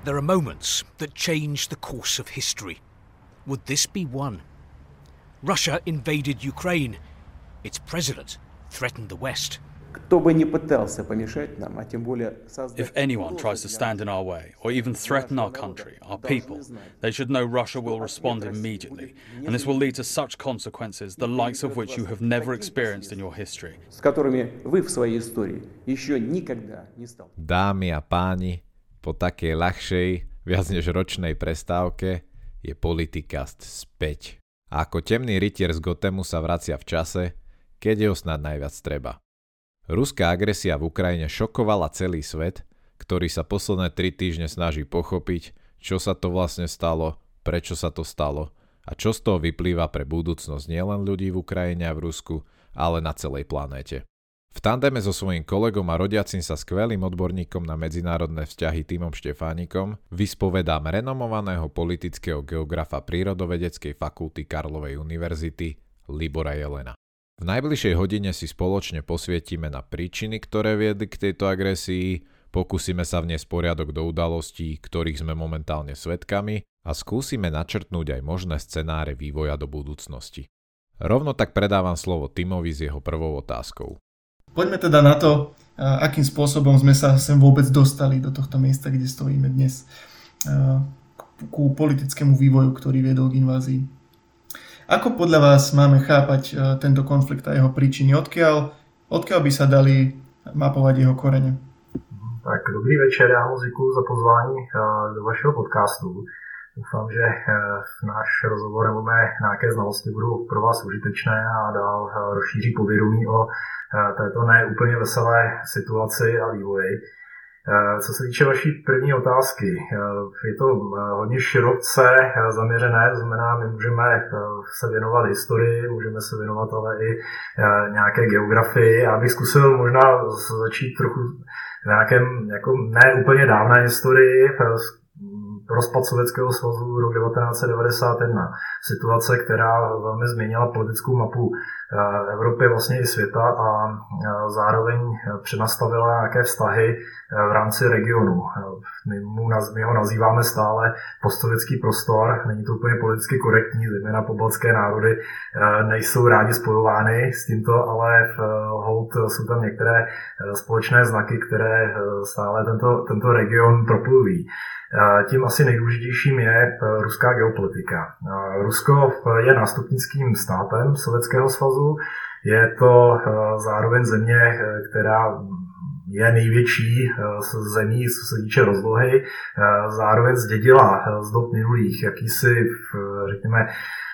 There are moments that change the course of history. Would this be one? Russia invaded Ukraine. Its president threatened the West. If anyone tries to stand in our way or even threaten our country, our people, they should know Russia will respond immediately, and this will lead to such consequences, the likes of which you have never experienced in your history. Dámy a páni, po takej ľahšej, viac než ročnej prestávke je Politikast späť. A ako temný rytier z Gothemu sa vracia v čase, keď je ho snad najviac treba. Ruská agresia v Ukrajine šokovala celý svet, ktorý sa posledné 3 týždne snaží pochopiť, čo sa to vlastne stalo, prečo sa to stalo a čo z toho vyplýva pre budúcnosť nielen ľudí v Ukrajine a v Rusku, ale na celej planéte. V tandeme so svojím kolegom a rodiacim sa skvelým odborníkom na medzinárodné vzťahy Timom Štefánikom vyspovedám renomovaného politického geografa Prírodovedeckej fakulty Karlovej univerzity Libora Jelena. V najbližšej hodine si spoločne posvietime na príčiny, ktoré viedli k tejto agresii, pokúsime sa vniesť poriadok do udalostí, ktorých sme momentálne svedkami a skúsime načrtnúť aj možné scenáre vývoja do budúcnosti. Rovno tak predávam slovo Timovi s jeho prvou otázkou. Poďme teda na to, akým spôsobom sme sa sem vôbec dostali do tohto miesta, kde stojíme dnes, ku politickému vývoju, ktorý viedol k invázii. Ako podľa vás máme chápať tento konflikt a jeho príčiny? Odkiaľ by sa dali mapovať jeho korene? Tak dobrý večer, já moc děkuji za pozvání do vašeho podcastu. Doufám, že náš rozhovor nebo mé nějaké znalosti budou pro vás užitečné a dál rozšíří povědomí o této neúplně veselé situaci a vývoji. Co se týče vaší první otázky, je to hodně široce zaměřené, to znamená, my můžeme se věnovat historii, můžeme se věnovat ale i nějaké geografii. Já bych zkusil možná začít trochu v nějakém jako ne úplně dávné historii, rozpad Sovětského svazu rok 1991. Situace, která velmi změnila politickou mapu Evropy, vlastně i světa a zároveň přenastavila nějaké vztahy v rámci regionu. My ho nazýváme stále postsovětský prostor, není to úplně politicky korektní, zejména pobaltské národy nejsou rádi spojovány s tímto, ale holt jsou tam některé společné znaky, které stále tento region propojují. Tím asi nejdůležitějším je ruská geopolitika. Rusko je nástupnickým státem Sovětského svazu, je to zároveň země, která je největší zemí, co se týče rozlohy, zároveň zdědila z dob minulých jakýsi, řekněme,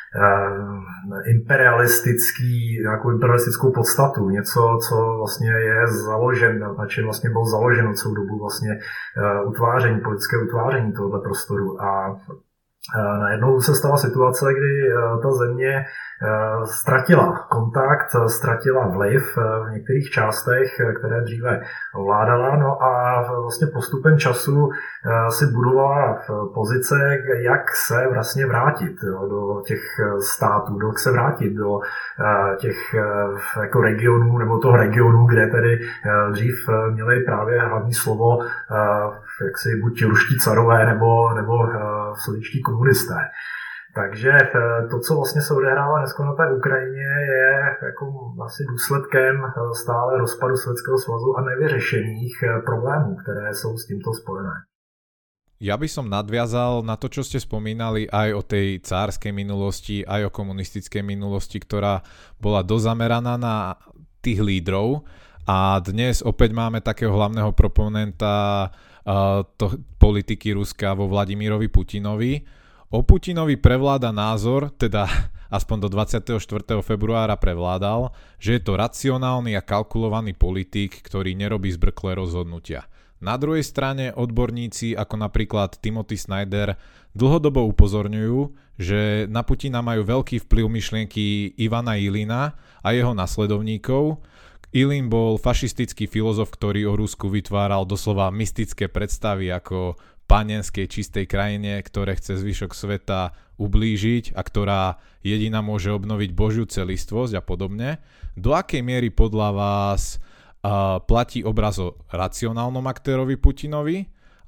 nějakou imperialistickou podstatu, něco, co vlastně je založeno, na čem vlastně bylo založeno celou dobu vlastně politické utváření tohoto prostoru. A najednou se stala situace, kdy ta země ztratila kontakt, ztratila vliv v některých částech, které dříve ovládala, no a vlastně postupem času si budovala pozice, jak se vlastně vrátit do těch států, jak se vrátit do těch jako regionů, nebo toho regionu, kde tedy dřív měli právě hlavní slovo jaksi buď ruští carové nebo sovětští komunisté. Takže to, co vlastně se odehrává dneska na té Ukrajině, je jako asi důsledkem stále rozpadu Sovětského svazu a nevyřešených problémů, které jsou s tímto spojené. Ja by som nadviazal na to, čo ste spomínali aj o tej cárskej minulosti, aj o komunistickej minulosti, ktorá bola dozameraná na tých lídrov. A dnes opäť máme takého hlavného proponenta politiky Ruska vo Vladimirovi Putinovi. O Putinovi prevláda názor, teda aspoň do 24. februára prevládal, že je to racionálny a kalkulovaný politik, ktorý nerobí zbrklé rozhodnutia. Na druhej strane odborníci ako napríklad Timothy Snyder dlhodobo upozorňujú, že na Putina majú veľký vplyv myšlienky Ivana Ilina a jeho nasledovníkov. Ilin bol fašistický filozof, ktorý o Rusku vytváral doslova mystické predstavy ako panenskej čistej krajine, ktoré chce zvyšok sveta ublížiť a ktorá jediná môže obnoviť Božiu celistvosť a podobne. Do akej miery podľa vás platí obraz o racionálnom aktérovi Putinovi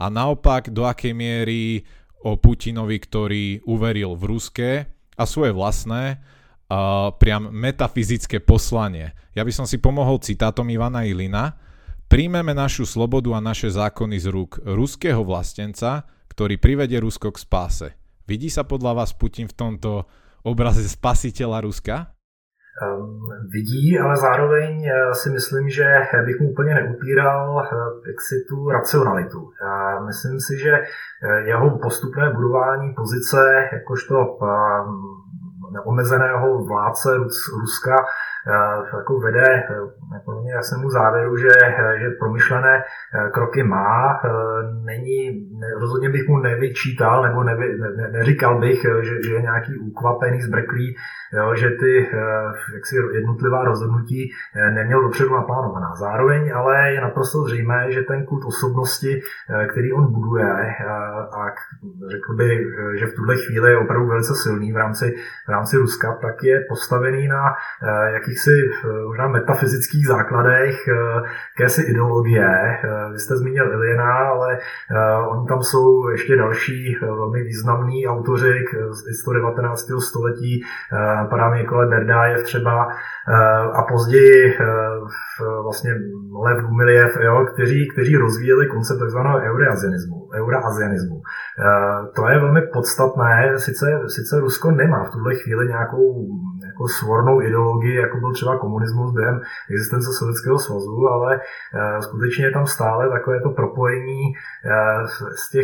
a naopak do akej miery o Putinovi, ktorý uveril v ruské a svoje vlastné priam metafyzické poslanie. Ja by som si pomohol citátom Ivana Ilina. Príjmeme našu slobodu a naše zákony z rúk ruského vlastenca, ktorý privedie Rusko k spáse. Vidí sa podľa vás Putin v tomto obraze spasiteľa Ruska? Vidí, ale zároveň si myslím, že bych mu úplně neupíral jaksi tu racionalitu. Myslím si, že jeho postupné budování pozice jakožto neomezeného vládce Ruska jako vede podle mě jasnému závěru, že promyšlené kroky má. Rozhodně bych mu nevyčítal, nebo neříkal bych, že je nějaký ukvapený, zbrklý, jo, že ty jaksi jednotlivá rozhodnutí neměl dopředu naplánovaná. Zároveň ale je naprosto zřejmé, že ten kult osobnosti, který on buduje, a řekl bych, že v tuhle chvíli je opravdu velice silný v rámci Ruska, tak je postavený na jakýchsi možná metafyzických základech jakési ideologie. Vy jste zmínil Iljina, ale oni tam jsou ještě další velmi významní autoři z 19. století, padá mi Nikolaj Berdájev třeba, a později vlastně Lev Gumiljev, kteří rozvíjeli koncept takzvaného euroasianismu. To je velmi podstatné, sice Rusko nemá v tuhle chvíli nějakou svornou ideologii, jako byl třeba komunismus během existence Sovětského svazu, ale skutečně je tam stále takové to propojení z těch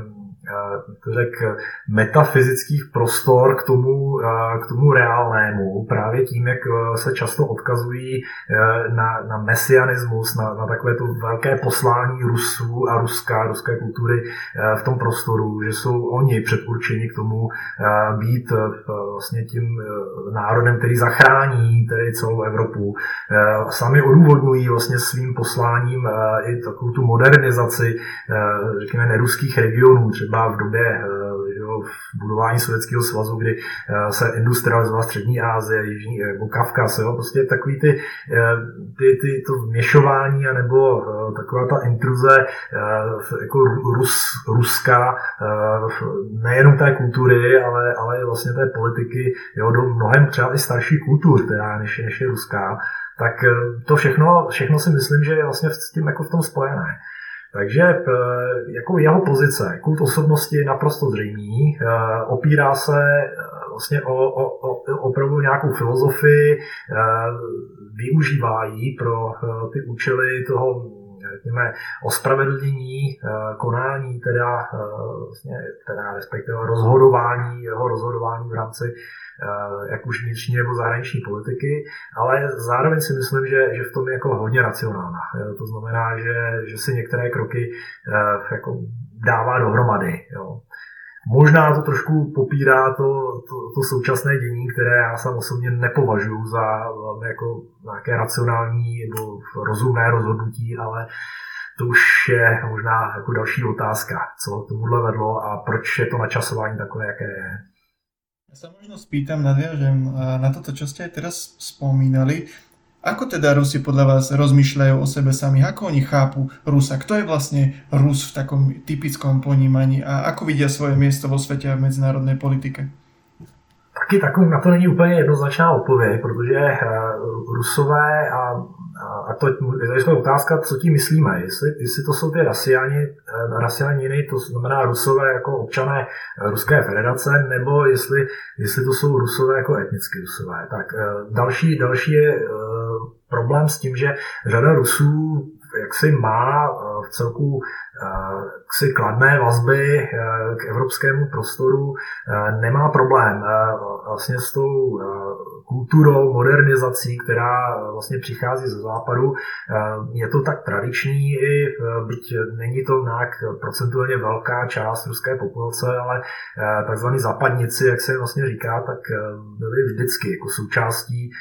metafyzických prostor k tomu reálnému, právě tím, jak se často odkazují na mesianismus, na takové to velké poslání Rusů a ruské kultury v tom prostoru, že jsou oni předurčeni k tomu být vlastně tím národem, který zachrání tedy celou Evropu. Sami odůvodňují vlastně svým posláním i takovou tu modernizaci, řekněme, neruských regionů, třeba v době budování Sovětského svazu, kdy se industrializovala Střední Asie, Jižní Kavkaz, prostě takový to vměšování, anebo taková ta intruze jako Ruska, nejenom té kultury, ale vlastně té politiky, do mnohem třeba i starší kultur, teda, než je ruská, tak to všechno si myslím, že je vlastně s tím jako v tom spojené. Takže jako jeho pozice, kult osobnosti je naprosto zřejmý, opírá se vlastně o opravdu nějakou filozofii, využívá ji pro ty účely toho, řekněme, ospravedlnění konání, teda respektive jeho rozhodování v rámci jak už vnitřní nebo zahraniční politiky, ale zároveň si myslím, že v tom je jako hodně racionálna. To znamená, že si některé kroky jako dává dohromady. Jo. Možná to trošku popírá to současné dění, které já sám osobně nepovažuji za jako nějaké racionální nebo rozumné rozhodnutí, ale to už je možná jako další otázka, co tomuhle vedlo a proč je to načasování takové, jaké je. Ja sa možno spýtam, nadviažem na toto, čo ste aj teraz spomínali. Ako teda Rusi podľa vás rozmýšľajú o sebe sami? Ako oni chápu Rusa? Kto je vlastne Rus v takom typickom ponímaní a ako vidia svoje miesto vo svete a v medzinárodnej politike? Taky takový na to není úplně jednoznačná odpověď, protože Rusové a to je otázka, co tím myslíme. Jestli to jsou ty rasianiny, to znamená Rusové jako občané Ruské federace, nebo jestli to jsou Rusové jako etnicky Rusové. Tak další je problém s tím, že řada Rusů jaksi má v celku jaksi kladné vazby k evropskému prostoru, nemá problém vlastně s tou kulturou, modernizací, která vlastně přichází ze západu. Je to tak tradiční, byť není to nějak procentuálně velká část ruské populace, ale takzvaní západníci, jak se vlastně říká, tak byli vždycky jako součástí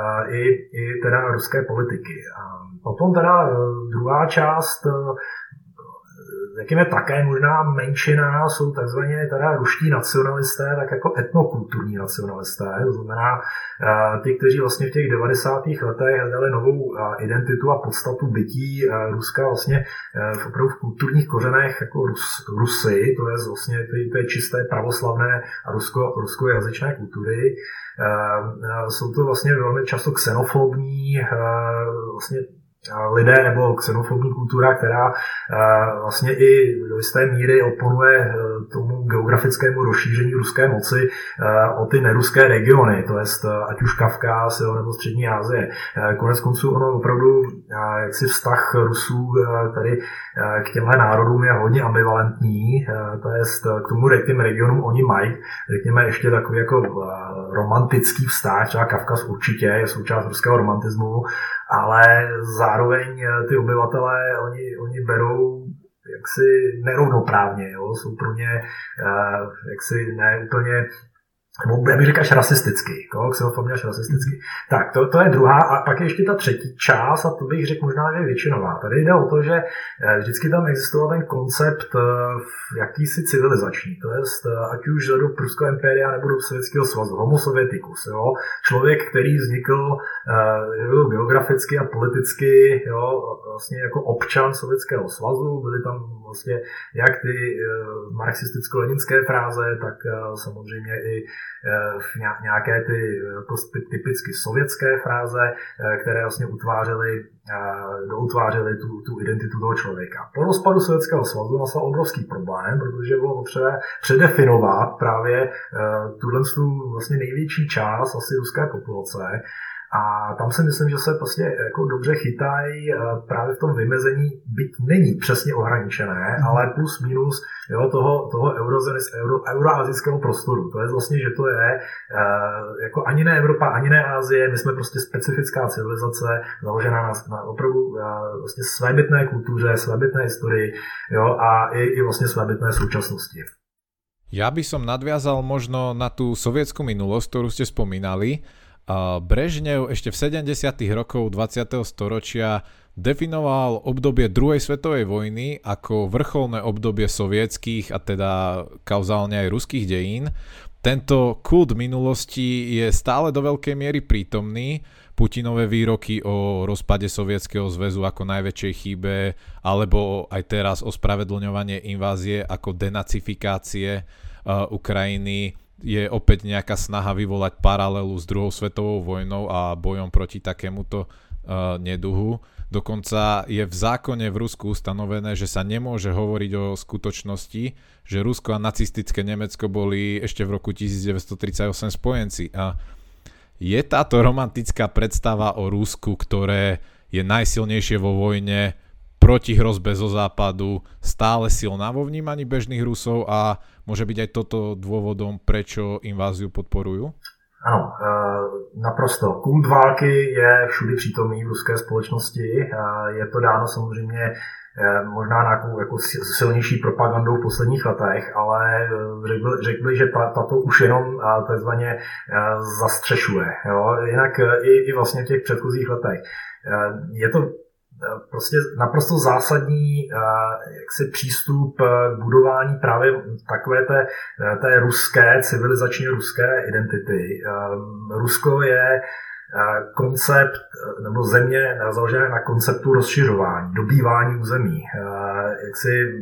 i teda ruské politiky. A potom teda druhá část řekněme také možná menšina, jsou takzvaně teda ruští nacionalisté, tak jako etnokulturní nacionalisté, to znamená ty, kteří vlastně v těch 90. letech hledali novou identitu a podstatu bytí Ruska vlastně opravdu v kulturních kořenech jako Rusy, to je vlastně ty čisté pravoslavné a ruskojazyčné kultury. Jsou to vlastně velmi často xenofobní vlastně lidé nebo xenofobní kultura, která vlastně i do jisté míry oponuje tomu geografickému rozšíření ruské moci o ty neruské regiony, to jest ať už Kavkaz nebo Střední Asie. Konec konců ono opravdu jaksi vztah Rusů tady k těmhle národům je hodně ambivalentní, to jest k těm regionům oni mají, řekněme ještě takový jako romantický vztah, třeba Kavkaz určitě je součást ruského romantismu, ale zároveň ty obyvatelé, oni berou jaksi nerovnoprávně, jo? Jsou pro ně jaksi ne úplně, já bych řekl až rasisticky, xenofobně až rasisticky. Tak, to je druhá, a pak je ještě ta třetí část, a to bych řekl možná, že je většinová. Tady jde o to, že vždycky tam existoval ten koncept jakýsi civilizační, to jest ať už do Pruského impéria nebo do Sovětského svazu, homo sověticus, jo? Člověk, který vznikl geograficky a politicky, jo? Vlastně jako občan Sovětského svazu, byly tam vlastně jak ty marxisticko-leninské fráze, tak samozřejmě i nějaké ty typicky sovětské fráze, které vlastně utvářely tu identitu toho člověka. Po rozpadu Sovětského svazu nastal obrovský problém, protože bylo potřeba předefinovat právě tuhle vlastně největší část asi ruské populace. A tam si myslím, že se prostě jako dobře chytají právě v tom vymezení, byť není přesně ohraničené, ale plus minus toho euroazijského prostoru. To je vlastně, že to je jako ani ne Evropa, ani ne Asie, my jsme prostě specifická civilizace, založená na opravdu vlastně svébytné kultuře, svébytné historii, jo, a i vlastně svébytné současnosti. Ja by som nadviazal možno na tú sovietsku minulosť, ktorú ste spomínali. Brežnev ešte v 70. rokoch 20. storočia definoval obdobie druhej svetovej vojny ako vrcholné obdobie sovietských a teda kauzálne aj ruských dejín. Tento kult minulosti je stále do veľkej miery prítomný. Putinové výroky o rozpade Sovietskeho zväzu ako najväčšej chybe, alebo aj teraz ospravedlňovanie invázie ako denacifikácie Ukrajiny, je opäť nejaká snaha vyvolať paralelu s druhou svetovou vojnou a bojom proti takémuto neduhu. Dokonca je v zákone v Rusku ustanovené, že sa nemôže hovoriť o skutočnosti, že Rusko a nacistické Nemecko boli ešte v roku 1938 spojenci. A je táto romantická predstava o Rusku, ktoré je najsilnejšie vo vojne proti hrozbe zo západu, stále silná vo vnímaní bežných Rusov a môže byť aj toto dôvodom, prečo inváziu podporujú? Ano, naprosto. Kult války je všudy přítomný v ruské společnosti. Je to dáno samozřejmě možná nějakou jako silnější propagandou v posledních letech, ale řekl bych, že tato už jenom takzvaně zastřešuje. Jo? Jinak i vlastně v těch předchozích letech. Je to prostě naprosto zásadní jaksi přístup k budování právě takové té ruské, civilizačně ruské identity. Rusko je koncept nebo země založené na konceptu rozšiřování, dobývání území. Jaksi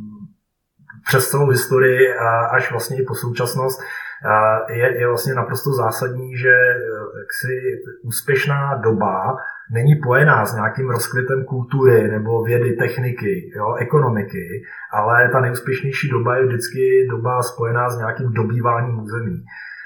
přes celou historii až vlastně i po současnost je vlastně naprosto zásadní, že jaksi úspěšná doba není pojená s nějakým rozkvětem kultury nebo vědy, techniky, jo, ekonomiky, ale ta nejúspěšnější doba je vždycky doba spojená s nějakým dobýváním území.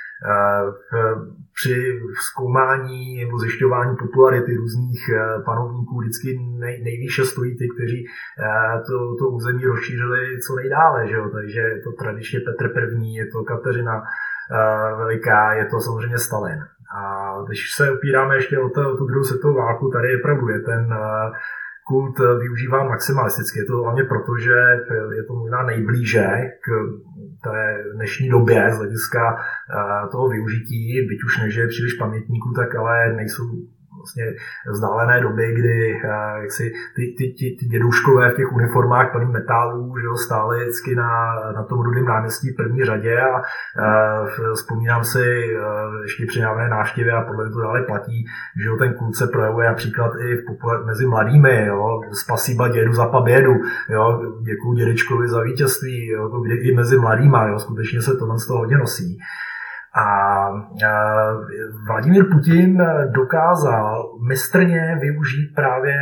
Při zkoumání nebo zjišťování popularity různých panovníků vždycky nejvýše stojí ty, kteří to území rozšířili co nejdále. Že jo? Takže je to tradičně Petr I., je to Kateřina Veliká, je to samozřejmě Stalin. A když se opíráme ještě o tu druhou světovou válku, tady je pravdu, je ten kult využíván maximalisticky. Je to hlavně proto, že je to možná nejblíže k té dnešní době z hlediska toho využití, byť už nežije příliš pamětníků, tak ale nejsou vlastně vzdálené doby, kdy jak si ty děduškové v těch uniformách plný metálů, že jo, stáli vždycky na tom Rudém náměstí v první řadě a vzpomínám si ještě při návné návštěvě a podle mě to dále platí, že jo, ten kult se projevuje například i mezi mladými, jo, spasiba dědu za pobědu, jo, děkuju dědečkovi za vítězství, jo, kdy i mezi mladýma, jo, skutečně se tohle z toho hodně nosí. A Vladimír Putin dokázal mistrně využít právě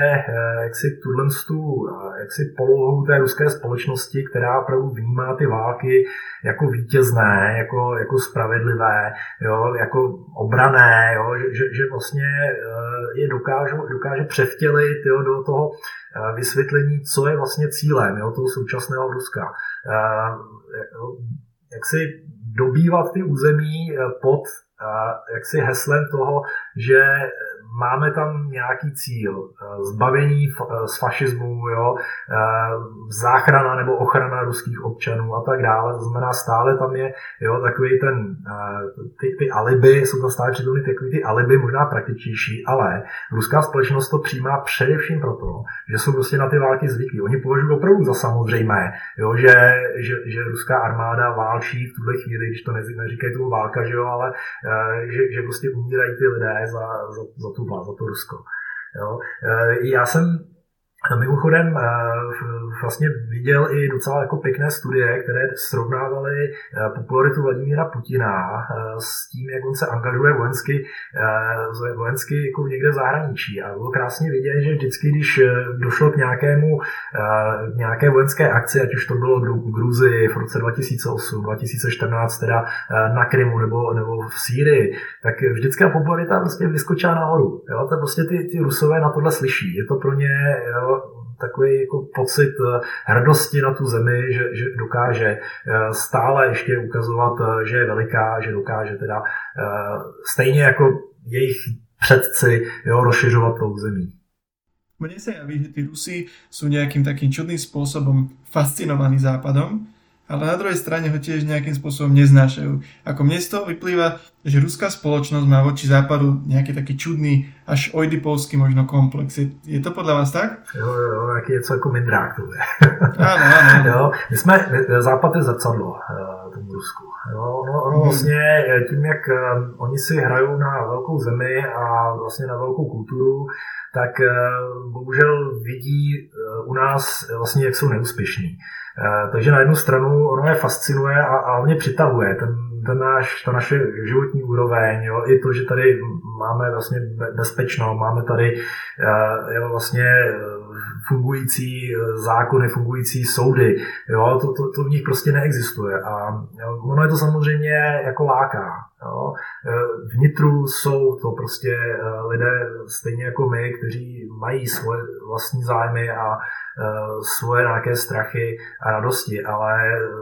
jaksi polohu té ruské společnosti, která opravdu vnímá ty války jako vítězné, jako spravedlivé, jo, jako obranné, jo, že vlastně je dokáže převtělit, jo, do toho vysvětlení, co je vlastně cílem, jo, toho současného Ruska. Jak si dobývat ty území pod jaksi heslem toho, že máme tam nějaký cíl, zbavení z fašismu, jo, záchrana nebo ochrana ruských občanů a tak dále. To znamená, stále tam je, jo, takový ty alibi, jsou tam stále přítomny takový ty alibi, možná praktičtější, ale ruská společnost to přijímá především proto, že jsou prostě na ty války zvyklí. Oni považují opravdu za samozřejmé, jo, že ruská armáda válčí v tuhle chvíli, když to neříkají tomu válka, že jo, ale že prostě umírají ty lidé za to Rusko. Jo. Já jsem mimochodem vlastně viděl i docela jako pěkné studie, které srovnávaly popularitu Vladimíra Putina s tím, jak on se angažuje vojensky jako někde v zahraničí. A bylo krásně vidět, že vždycky, když došlo k nějaké vojenské akci, ať už to bylo v Gruzii v roce 2008, 2014 teda na Krymu nebo v Sýrii, tak vždycky popularita prostě vyskočila nahoru. Jo? To prostě ty Rusové na tohle slyší. Je to pro ně, jo, takový jako pocit hrdosti na tu zemi, že dokáže stále ještě ukazovat, že je veliká, že dokáže teda stejně jako jejich předci, jo, rozšiřovat tou zemí. Mne sa javí, že tí Rusi sú nejakým takým čudným spôsobom fascinovaní Západom, ale na druhej strane ho tiež nejakým spôsobom neznášajú. Ako mne z toho vyplýva, že ruská spoločnosť má voči Západu nejaký taký čudný, až oidipolský možno komplex. Je to podľa vás tak? Jo, jaký je co jako mindrák to je. Áno. Jo, Západ je zrcadlo tomu Rusku. Jo, ono vlastně tím, jak oni si hrajou na velkou zemi a vlastně na velkou kulturu, tak bohužel vidí u nás vlastně, jak jsou neúspěšní. Takže na jednu stranu ono je fascinuje a on je přitahuje, ta naše životní úroveň, jo, i to, že tady máme vlastně bezpečno, máme tady vlastně fungující zákony, fungující soudy, jo, to v nich prostě neexistuje a ono je to samozřejmě jako láká. Jo. Vnitru jsou to prostě lidé stejně jako my, kteří mají svoje vlastní zájmy a svoje nějaké strachy a radosti, ale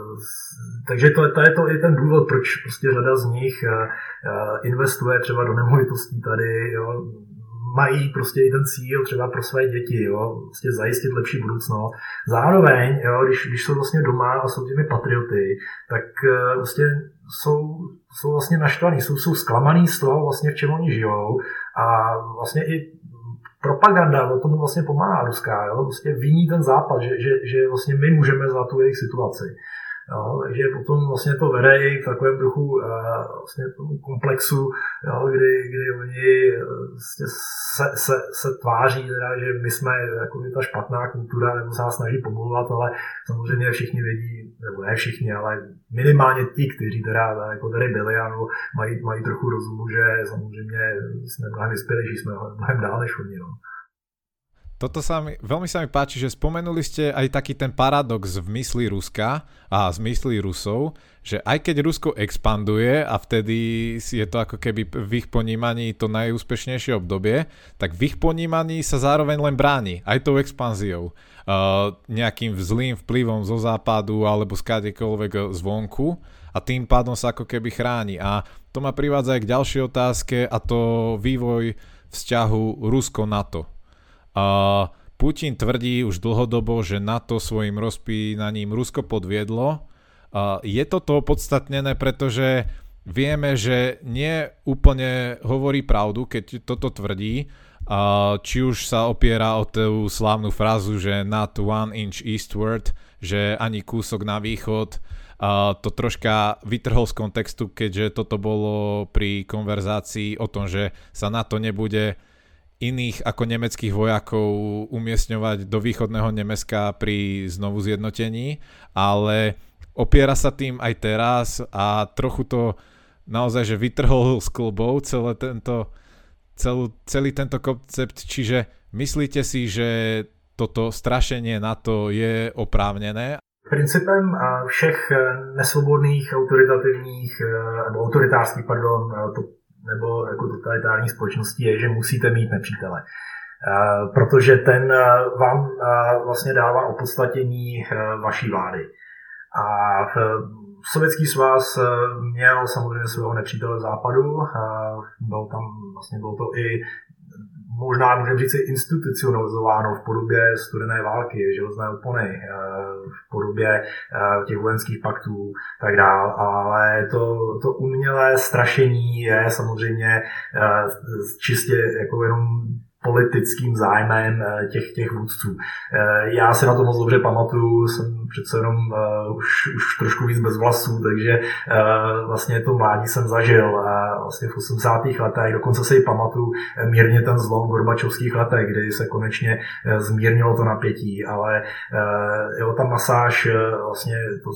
takže to je to i ten důvod, proč prostě řada z nich investuje třeba do nemovitostí tady, jo. Mají prostě i ten cíl třeba pro své děti, jo, prostě zajistit lepší budoucnost. Zároveň, jo, když jsou vlastně doma a jsou těmi patrioty, tak vlastně jsou vlastně naštvaní, jsou zklamaný z toho vlastně, v čem oni žijou a vlastně i propaganda o tomu vlastně pomáhá ruská, jo, vlastně viní ten Západ, že vlastně my můžeme za tu jejich situaci. Jo, takže potom vlastně to vede i v takovém duchu vlastně tomu komplexu, jo, kdy oni vlastně se tváří, teda, že my jsme jako ta špatná kultura, nebo se nás snaží pomlouvat, ale samozřejmě všichni vědí, nebo ne všichni, ale minimálně ti, kteří teda jako tady byli, ano, mají trochu rozumu, že samozřejmě jsme mnohem vyspělejší, jsme mnohem dál než oni. No. Toto veľmi sa mi páči, že spomenuli ste aj taký ten paradox v mysli Ruska a z mysli Rusov, že aj keď Rusko expanduje a vtedy je to ako keby v ich ponímaní to najúspešnejšie obdobie, tak v ich ponímaní sa zároveň len bráni aj tou expanziou. Nejakým zlým vplyvom zo západu alebo z kadekoľvek zvonku a tým pádom sa ako keby chráni. A to ma privádza aj k ďalšej otázke a to vývoj vzťahu Rusko-NATO. Putin tvrdí už dlhodobo, že NATO svojim rozpínaním Rusko podviedlo. Je to opodstatnené, pretože vieme, že nie úplne hovorí pravdu, keď toto tvrdí. či už sa opiera o tú slávnu frázu, že not 1 inch eastward, že ani kúsok na východ, to troška vytrhol z kontextu, keďže toto bolo pri konverzácii o tom, že sa NATO nebude iných ako nemeckých vojakov umiestňovať do východného Nemecka pri znovu zjednotení, ale opiera sa tým aj teraz a trochu to naozaj, že vytrhol z klbov celý tento koncept, čiže myslíte si, že toto strašenie NATO je oprávnené? Principem všech nesvobodných, autoritativních, nebo autoritářských, nebo jako totalitárních společností je, že musíte mít nepřítele. Protože ten vám vlastně dává opodstatnění vaší vlády. A Sovětský svaz měl samozřejmě svého nepřítele v západu, bylo to i možná můžeme říct institucionalizováno v podobě studené války, železné opony, v podobě těch vojenských paktů tak dál, ale to umělé strašení je samozřejmě čistě jako jenom politickým zájmem těch vůdců. Já si na to moc dobře pamatuju, jsem přece jenom už trošku víc bez vlasů, takže vlastně to mládí jsem zažil vlastně v 80. letech, dokonce si pamatuju mírně ten zlom v gorbačovských letech, kdy se konečně zmírnilo to napětí, ale ta masáž, vlastně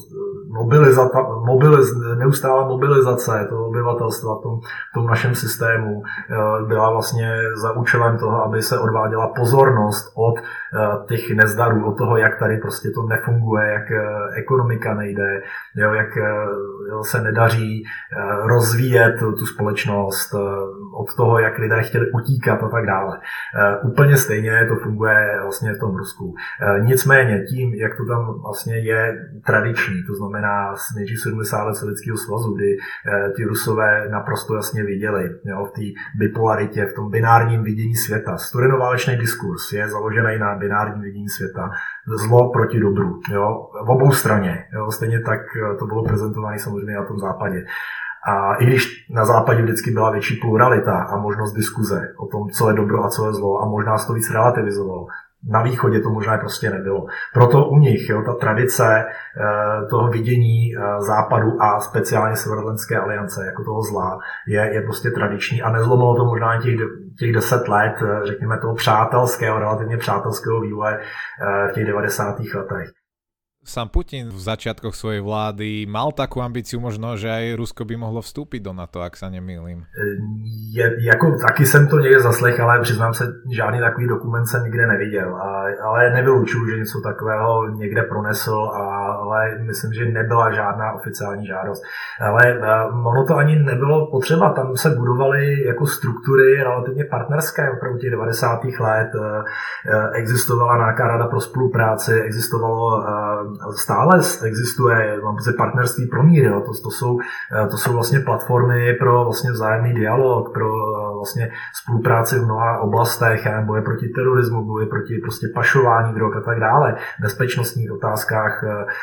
neustálá mobilizace toho obyvatelstva v tom našem systému byla vlastně za účelem toho, aby se odváděla pozornost od těch nezdarů, od toho, jak tady prostě to nefunguje, jak ekonomika nejde, jak se nedaří rozvíjet tu společnost, od toho, jak lidé chtěli utíkat a tak dále. Úplně stejně to funguje vlastně v tom Rusku. Nicméně tím, jak to tam vlastně je tradiční, to znamená nejdřív 70 let Sovětského svazu, kdy ti Rusové naprosto jasně viděli v té bipolaritě, v tom binárním vidění světa. Studenoválečný diskurs je založený na binárním vidění světa. Zlo proti dobru. V obou straně. Stejně tak to bylo prezentované samozřejmě na tom západě. A i když na západě vždycky byla větší pluralita a možnost diskuze o tom, co je dobro a co je zlo a možná se to víc relativizovalo, na východě to možná prostě nebylo. Proto u nich ta tradice toho vidění západu a speciálně Severoatlantické aliance jako toho zla je prostě tradiční a nezlomilo to možná těch 10 let, řekněme toho relativně přátelského vývoje v těch 90. letech. Sám Putin v začiatkoch svojej vlády mal takú ambíciu možno, že aj Rusko by mohlo vstúpiť do NATO, ak sa nemýlim. Taky jsem to někde zaslech, ale přiznám se, žádný takový dokument jsem nikde neviděl. Ale nevylučuju, že něco takového někde pronesl, ale myslím, že nebyla žádná oficiální žádost. Ale ono to ani nebylo potřeba, tam se budovaly jako struktury relativně partnerské opravdu těch 90. let. Existovala nějaká rada pro spolupráci, stále existuje partnerství pro mír. To jsou vlastně platformy pro vlastně vzájemný dialog, pro vlastně spolupráci v mnoha oblastech, boje proti terorismu, boje proti prostě pašování drog a tak dále, bezpečnostních otázkách.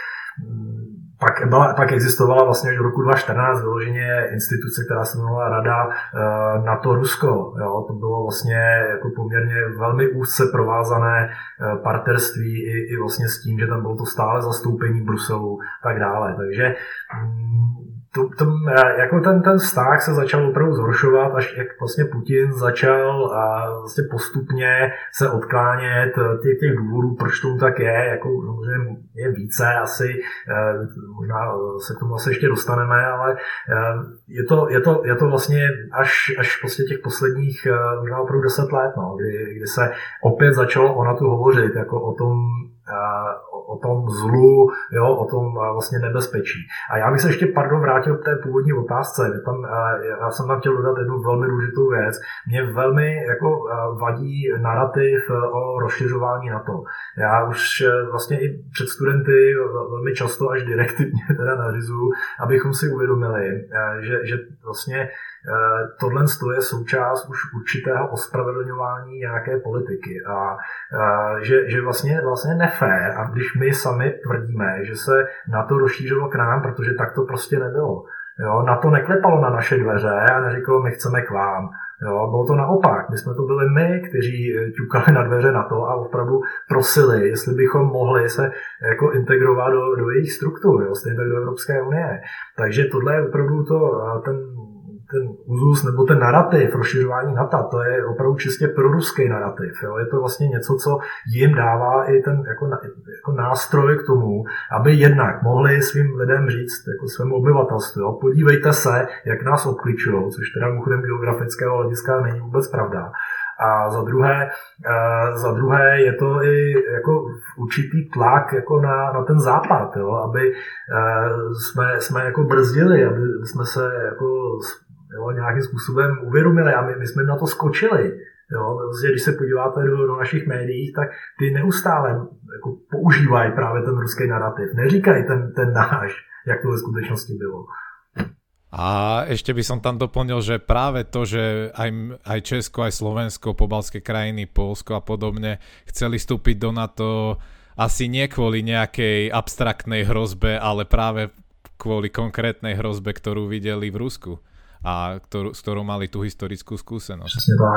Pak existovala vlastně až do roku 2014 vyloženě instituce, která se jmenovala Rada NATO-Rusko. To bylo vlastně jako poměrně velmi úzce provázané partnerství i vlastně s tím, že tam bylo to stále zastoupení v Bruselu a tak dále. Takže jako ten vztah se začal opravdu zhoršovat, až jak vlastně Putin začal vlastně postupně se odklánět těch důvodů, proč tomu tak je, jako je více asi, možná se k tomu asi ještě dostaneme, ale je to vlastně až prostě těch posledních možná opravdu 10 let, kdy se opět začalo o NATO hovořit, jako o tom zlu, o tom vlastně nebezpečí. A já bych se ještě, vrátil k té původní otázce. Já jsem tam chtěl dodat jednu velmi důležitou věc. Mě velmi vadí narrativ o rozšiřování NATO. Já už vlastně i před studenty velmi často až direktivně teda nařizuju, abychom si uvědomili, že vlastně tohle je součást už určitého ospravedlňování nějaké politiky a že vlastně nefér, a když my sami tvrdíme, že se NATO rozšířilo k nám, protože tak to prostě nebylo. Jo, NATO neklepalo na naše dveře a neříkalo, my chceme k vám. Jo, bylo to naopak. My jsme to byli my, kteří ťukali na dveře NATO a opravdu prosili, jestli bychom mohli se jako integrovat do jejich struktur, jo, stejně tak do Evropské unie. Takže tohle je opravdu ten úzus nebo ten narrativ rozšiřování NATO, to je opravdu čistě proruský narrativ. Jo. Je to vlastně něco, co jim dává i ten jako nástroj k tomu, aby jednak mohli svým lidem říct, jako svému obyvatelstvu, jo, podívejte se, jak nás obkličují, což teda mimochodem geografického hlediska není vůbec pravda. A za druhé je to i jako určitý tlak jako na ten západ, jo, aby jsme jako brzdili, aby jsme se jako nějakým způsobem uvědomili a my jsme na to skočili. Jo. Když se podíváte do našich médií, tak ty neustále jako používají právě ten ruský narrativ. Neříkají ten náš, jak to ve skutečnosti bylo. A ešte by som tam doplnil, že práve to, že aj Česko, aj Slovensko, pobaltské krajiny, Poľsko a podobne chceli vstúpiť do NATO asi nie kvôli nejakej abstraktnej hrozbe, ale práve kvôli konkrétnej hrozbe, ktorú videli v Rusku a s ktorou mali tú historickú skúsenosť.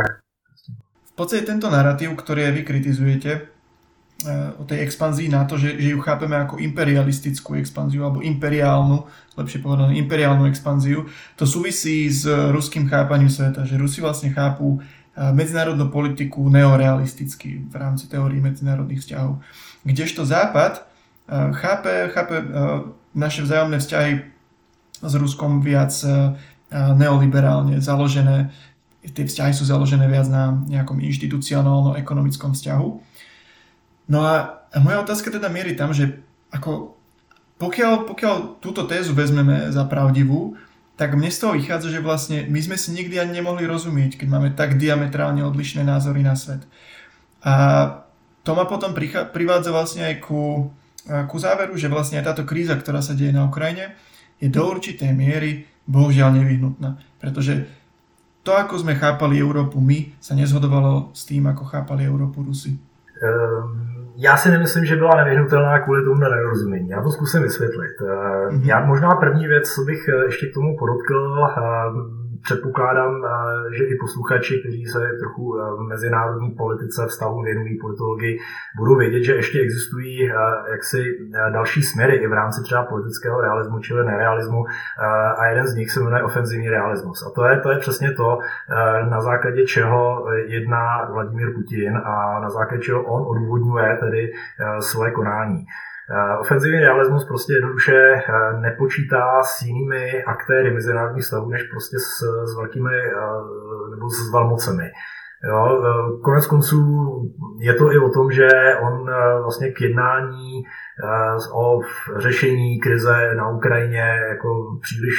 V podstate tento narratív, ktorý vy kritizujete o tej expanzii NATO, že ju chápeme ako imperialistickú expanziu alebo lepšie povedané imperiálnu expanziu, to súvisí s ruským chápaním sveta, že Rusi vlastne chápu medzinárodnú politiku neorealisticky v rámci teórií medzinárodných vzťahov. Kdežto Západ chápe naše vzájomné vzťahy s Ruskom viac neoliberálne založené. Tie vzťahy sú založené viac na nejakom inštitucionálno-ekonomickom vzťahu. No a moja otázka teda mierí tam, že ako pokiaľ túto tézu vezmeme za pravdivú, tak mne z toho vychádza, že vlastne my sme si nikdy ani nemohli rozumieť, keď máme tak diametrálne odlišné názory na svet. A to ma potom privádza vlastne aj ku záveru, že vlastne aj táto kríza, ktorá sa deje na Ukrajine, je do určitej miery bohužiaľ nevyhnutná. Pretože to, ako sme chápali Európu my, sa nezhodovalo s tým, ako chápali Európu Rusi. Já si nemyslím, že byla nevyhnutelná kvůli tomu nedorozumění. Já to zkusím vysvětlit. Já možná první věc, co bych ještě k tomu podotkl, předpokládám, že i posluchači, kteří se trochu mezinárodní politice vztahům věnují politologii, budou vědět, že ještě existují jaksi další směry i v rámci třeba politického realismu, čili nerealismu, a jeden z nich se jmenuje ofenzivní realismus. A to je přesně to, na základě čeho jedná Vladimír Putin a na základě čeho on odůvodňuje tedy svoje konání. Ofenzivní realismus prostě jednoduše nepočítá s jinými aktéry mezinárodních vztahů, než prostě s velkými nebo s velmocemi. Jo, konec konců je to i o tom, že on vlastně k jednání o řešení krize na Ukrajině jako příliš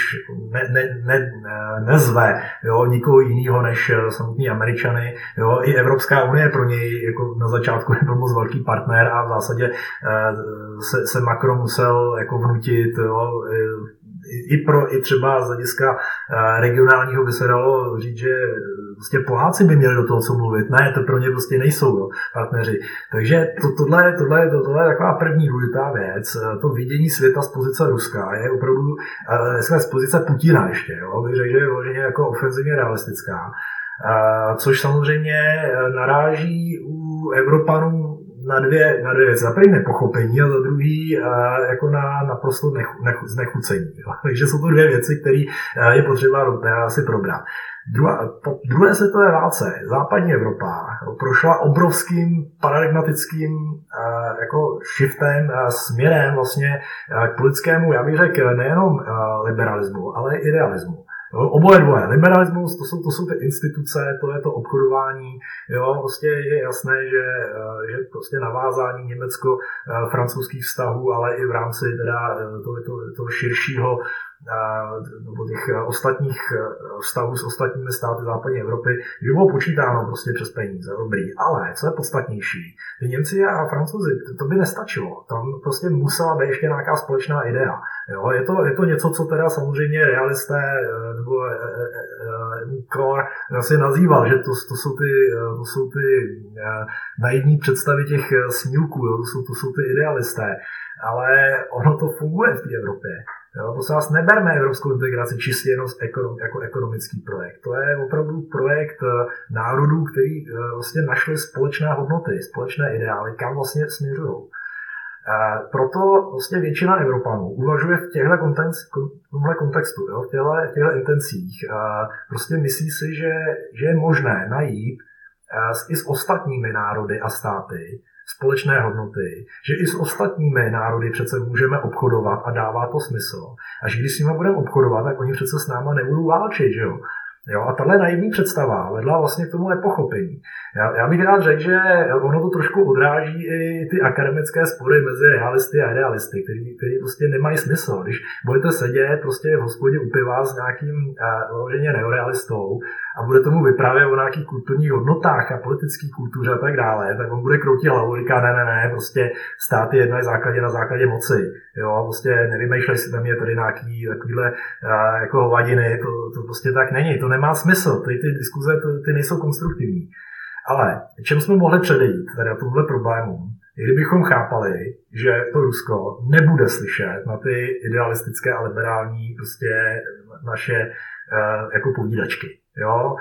nezve, jo, nikoho jiného než samotní Američany. Jo, i Evropská unie pro něj jako na začátku nebyl moc velký partner a v zásadě se Macron musel jako vnutit, jo, i třeba z hlediska regionálního by se dalo říct, že prostě Poláci by měli do toho co mluvit. Ne, to pro ně prostě nejsou, jo, partneři. Takže tohle je taková první důležitá věc. To vidění světa z pozice Ruska je opravdu z pozice Putina ještě. Jo, bych řekl, že je vloženě jako ofenzivně realistická. Což samozřejmě naráží u Evropanů na dvě věci. Za první nepochopení a za druhý jako na naprosto znechucení. Takže jsou to dvě věci, které je potřeba si probrat. Po druhé světové válce západní Evropa prošla obrovským paradigmatickým jako shiftem, směrem vlastně k politickému, já bych řekl, nejenom liberalismu, ale i idealismu. Oboje dvoje. Liberalismus, to jsou ty instituce, to je to obchodování. Jo, prostě je jasné, že prostě navázání německo-francouzských vztahů, ale i v rámci teda toho širšího nebo těch ostatních vztahů s ostatními státy západní Evropy, že bylo počítáno prostě přes peníze, dobrý. Ale co je podstatnější, ty Němci a Francouzi, to by nestačilo. Tam prostě musela být ještě nějaká společná idea. Jo, je to něco, co teda samozřejmě realisté nebo Kohl asi nazýval, že to jsou ty naivní představy těch snílků, jo, to jsou ty idealisté. Ale ono to funguje v té Evropě. Jo, to se nás neberme evropskou integraci čistě jenom jako ekonomický projekt. To je opravdu projekt národů, který vlastně našli společné hodnoty, společné ideály, kam vlastně směřují. Proto vlastně většina Evropanů uvažuje v tomhle kontextu, jo, v těchto intencích. Prostě myslí si, že je možné najít i s ostatními národy a státy společné hodnoty, že i s ostatními národy přece můžeme obchodovat a dává to smysl. A že když s nimi budeme obchodovat, tak oni přece s náma nebudou válčit, že jo? Jo, a tahle naivní představa vedla vlastně k tomu nepochopení. Já bych rád řekl, že ono to trošku odráží i ty akademické spory mezi realisty a idealisty, který prostě nemají smysl. Když budete sedět prostě v hospodě u piva s nějakým vyloženě neorealistou a bude tomu vyprávět o nějakých kulturních hodnotách a politické kultuře a tak dále, tak on bude kroutit hlavu a říká ne, prostě stát je jedno na základě moci. Jo, prostě nevymýšlej si tam je tady nějaký takovýhle jako hovadiny, to prostě tak není, to nemá smysl, ty diskuze ty nejsou konstruktivní. Ale čem jsme mohli předejít teda tomhle problému, kdybychom chápali, že to Rusko nebude slyšet na ty idealistické a liberální prostě naše jako povídačky. Jo?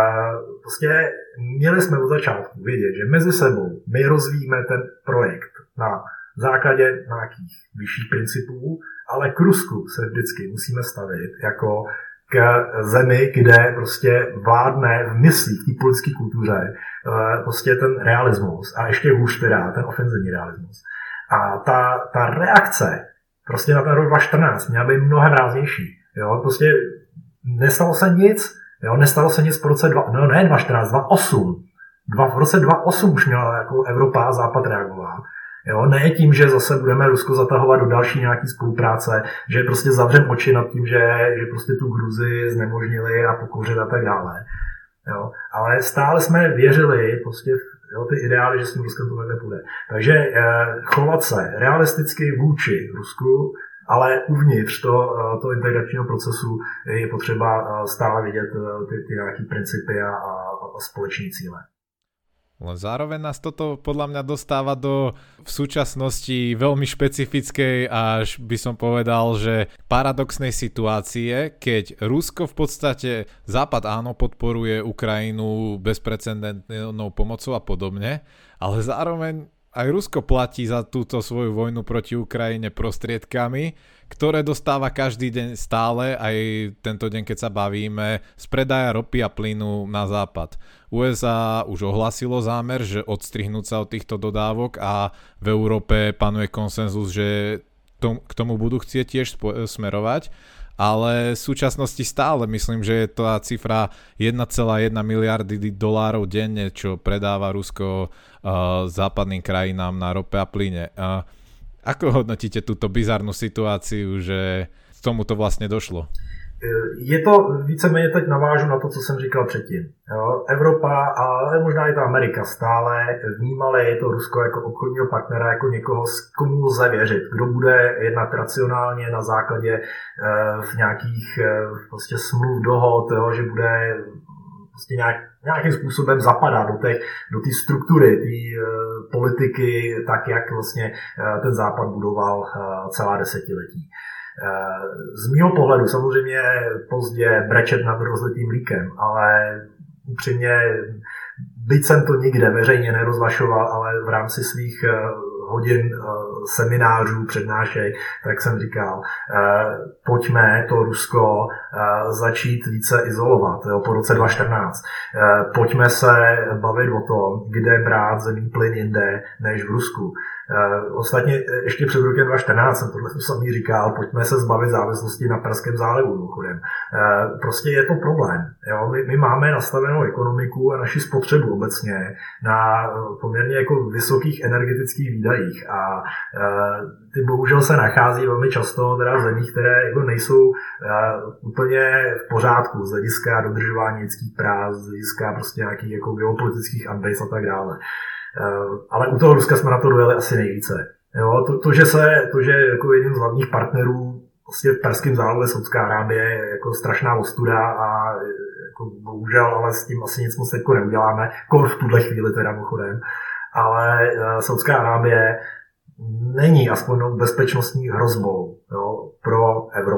Prostě měli jsme od začátku vědět, že mezi sebou my rozvíjíme ten projekt na základě nějakých vyšších principů, ale k Rusku se vždycky musíme stavit jako k zemi, kde prostě vládne v myslích, v té politické kultuře prostě ten realismus a ještě hůř teda ten ofenzivní realismus. A ta reakce prostě na ten rok 2014 měla být mnohem ráznější. Jo? Prostě nestalo se nic, jo? Nestalo se nic v roce 2014, 2008. V roce 2008 už měla jako Evropa a Západ reagovat. Jo, ne tím, že zase budeme Rusko zatahovat do další nějaký spolupráce, že prostě zavřeme oči nad tím, že prostě tu Gruzii znemožnili a pokouřili a tak dále. Jo, ale stále jsme věřili prostě ty ideály, že s tím Ruskem to nepůjde. Takže chovat se realisticky vůči Rusku, ale uvnitř toho integračního procesu je potřeba stále vidět ty nějaké principy a společné cíle. Len zároveň nás toto podľa mňa dostáva do v súčasnosti veľmi špecifickej, až by som povedal, že paradoxnej situácie, keď Rusko v podstate, Západ áno, podporuje Ukrajinu bezprecedentnou pomocou a podobne, ale zároveň aj Rusko platí za túto svoju vojnu proti Ukrajine prostriedkami, ktoré dostáva každý deň stále, aj tento deň, keď sa bavíme, z predaja ropy a plynu na západ. USA už ohlasilo zámer, že odstrihnúť sa od týchto dodávok a v Európe panuje konsenzus, že k tomu budú chcieť tiež smerovať, ale v súčasnosti stále myslím, že je to cifra 1,1 miliardy dolárov denne, čo predáva Rusko západným krajinám na rope a plyne. Ako hodnotíte túto bizarnú situáciu, že k tomuto vlastne došlo? Je to víceméně, teď navážu na to, co jsem říkal předtím. Jo, Evropa, ale možná i ta Amerika stále vnímali to Rusko jako obchodního partnera, jako někoho, komu lze věřit, kdo bude jednat racionálně na základě v nějakých prostě smluv, dohod, jo, že bude prostě nějakým způsobem zapadat do té struktury, té politiky, tak jak vlastně ten Západ budoval celá desetiletí. Z mýho pohledu samozřejmě pozdě brečet nad rozlitým mlíkem, ale upřímně, byť jsem to nikde veřejně nerozhlašoval, ale v rámci svých hodin seminářů, přednášek, tak jsem říkal, pojďme to Rusko začít více izolovat, jo, po roce 2014. Pojďme se bavit o tom, kde brát zemní plyn jinde než v Rusku. Ostatně ještě před rokem 2014 jsem tohle samý říkal, pojďme se zbavit závislosti na Perském zálivu. Prostě je to problém. Jo? My máme nastavenou ekonomiku a naši spotřebu obecně na poměrně jako vysokých energetických výdajích a ty bohužel se nachází velmi často teda v zemích, které jako nejsou úplně v pořádku z hlediska dodržování lidských práv, z hlediska prostě nějakých jako geopolitických ambic a tak dále. Ale u toho Ruska jsme na to dojeli asi nejvíce. Jo, to, že jako jedním z hlavních partnerů vlastně v Perském zálivu je Saudská Arábie, je jako strašná ostuda a jako bohužel, ale s tím asi nic moc teďko neuděláme, kor v tuhle chvíli teda mimochodem. Ale Saudská Arábie není aspoň bezpečnostní hrozbou, jo, pro Evropu.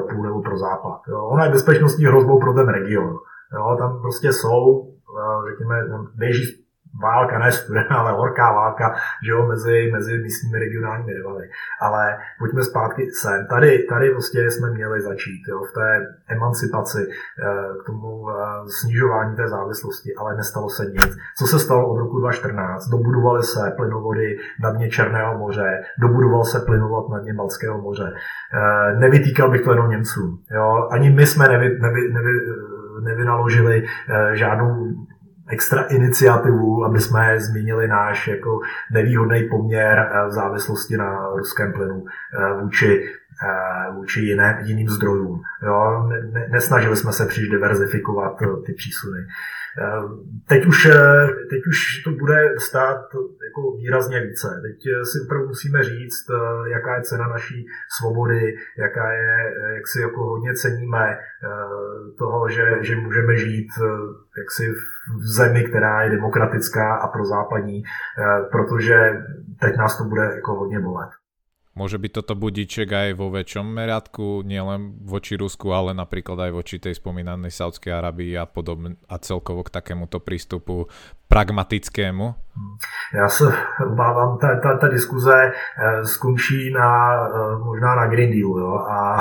ona je bezpečnostní hrozbou pro ten region. Jo, tam prostě jsou, řekněme, běží válka, ne studená, ale horká válka, že jo, mezi místními regionálními rivaly. Ale pojďme zpátky sem. Tady prostě jsme měli začít, jo, v té emancipaci, k tomu snižování té závislosti, ale nestalo se nic. Co se stalo od roku 2014? Dobudovaly se plynovody na dně Černého moře, dobudoval se plynovod na dně Baltského moře. Nevytýkal bych to jenom Němcům. Jo. Ani my jsme nevynaložili žádnou extra iniciativu, aby jsme změnili náš jako nevýhodný poměr v závislosti na ruském plynu vůči jiným zdrojům. Jo? Nesnažili jsme se příliš diverzifikovat ty přísuny. Teď už to bude stát jako výrazně více. Teď si opravdu musíme říct, jaká je cena naší svobody, jak si jako hodně ceníme toho, že můžeme žít jaksi v zemi, která je demokratická a prozápadní, protože teď nás to bude jako hodně bolet. Môže byť toto budíček aj vo väčšom meradku, nielen voči Rusku, ale napríklad aj voči tej spomínanej Saudskej Arabii a podobne, a celkovo k takémuto prístupu pragmatickému? Já se obávám, ta diskuze skončí možná na Green Dealu. Jo? A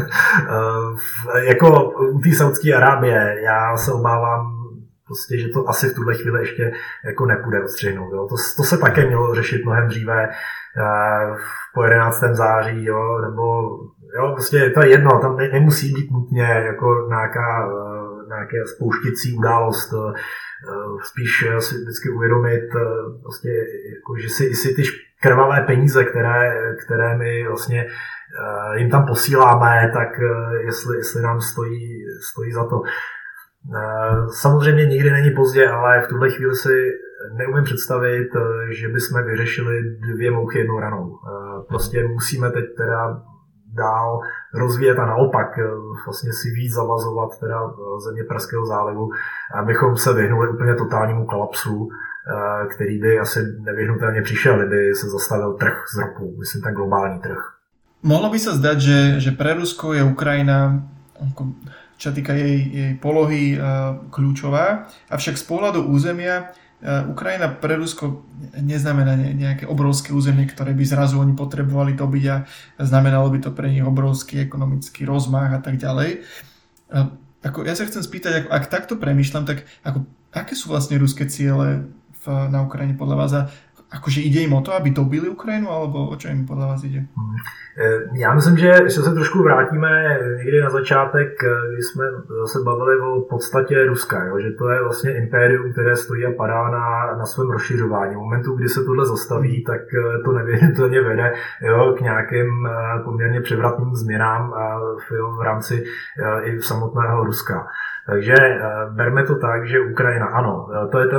jako u té Saudské Arábie, já se obávám, prostě, že to asi v tuhle chvíli ještě jako nepůjde odstřihnout. Jo? To se také mělo řešit mnohem dříve, po 11. září, jo? Nebo jo, prostě to je jedno, tam nemusí být nutně jako nějaké spouštěcí událost, spíš si vždycky uvědomit, vlastně, jako, že si ty krvavé peníze, které my vlastně jim tam posíláme, tak jestli nám stojí za to. Samozřejmě nikdy není pozdě, ale v tuhle chvíli si neumím představit, že bychom vyřešili 2 mouchy jednou ranou. Prostě musíme teď teda dál rozvíjet a naopak vlastně si víc zavazovat teda země Perského zálivu, abychom se vyhnuli úplně totálnímu kolapsu, který by asi nevyhnutelně přišel, kdyby se zastavil trh z ropu, myslím ten globální trh. Mohlo by sa zdať, že pre Rusko je Ukrajina, čo týka jej polohy, kľúčová, avšak z pohľadu územia Ukrajina pre Rusko neznamená nejaké obrovské územie, ktoré by zrazu oni potrebovali dobiť a znamenalo by to pre nich obrovský ekonomický rozmach a tak ďalej. Ja sa chcem spýtať, ak takto premýšľam, tak aké sú vlastne ruské ciele na Ukrajine podľa vás? Akože ide im o to, aby dobili Ukrajinu, alebo o čo im podľa vás ide? Já myslím, že se trošku vrátíme někdy na začátek, když jsme se bavili o podstatě Ruska, jo? Že to je vlastně impérium, které stojí a padá na svém rozšiřování. V momentu, kdy se tohle zastaví, tak to nevyhnutelně vede, jo, k nějakým poměrně převratným změnám v rámci i samotného Ruska. Takže berme to tak, že Ukrajina, ano, to je ten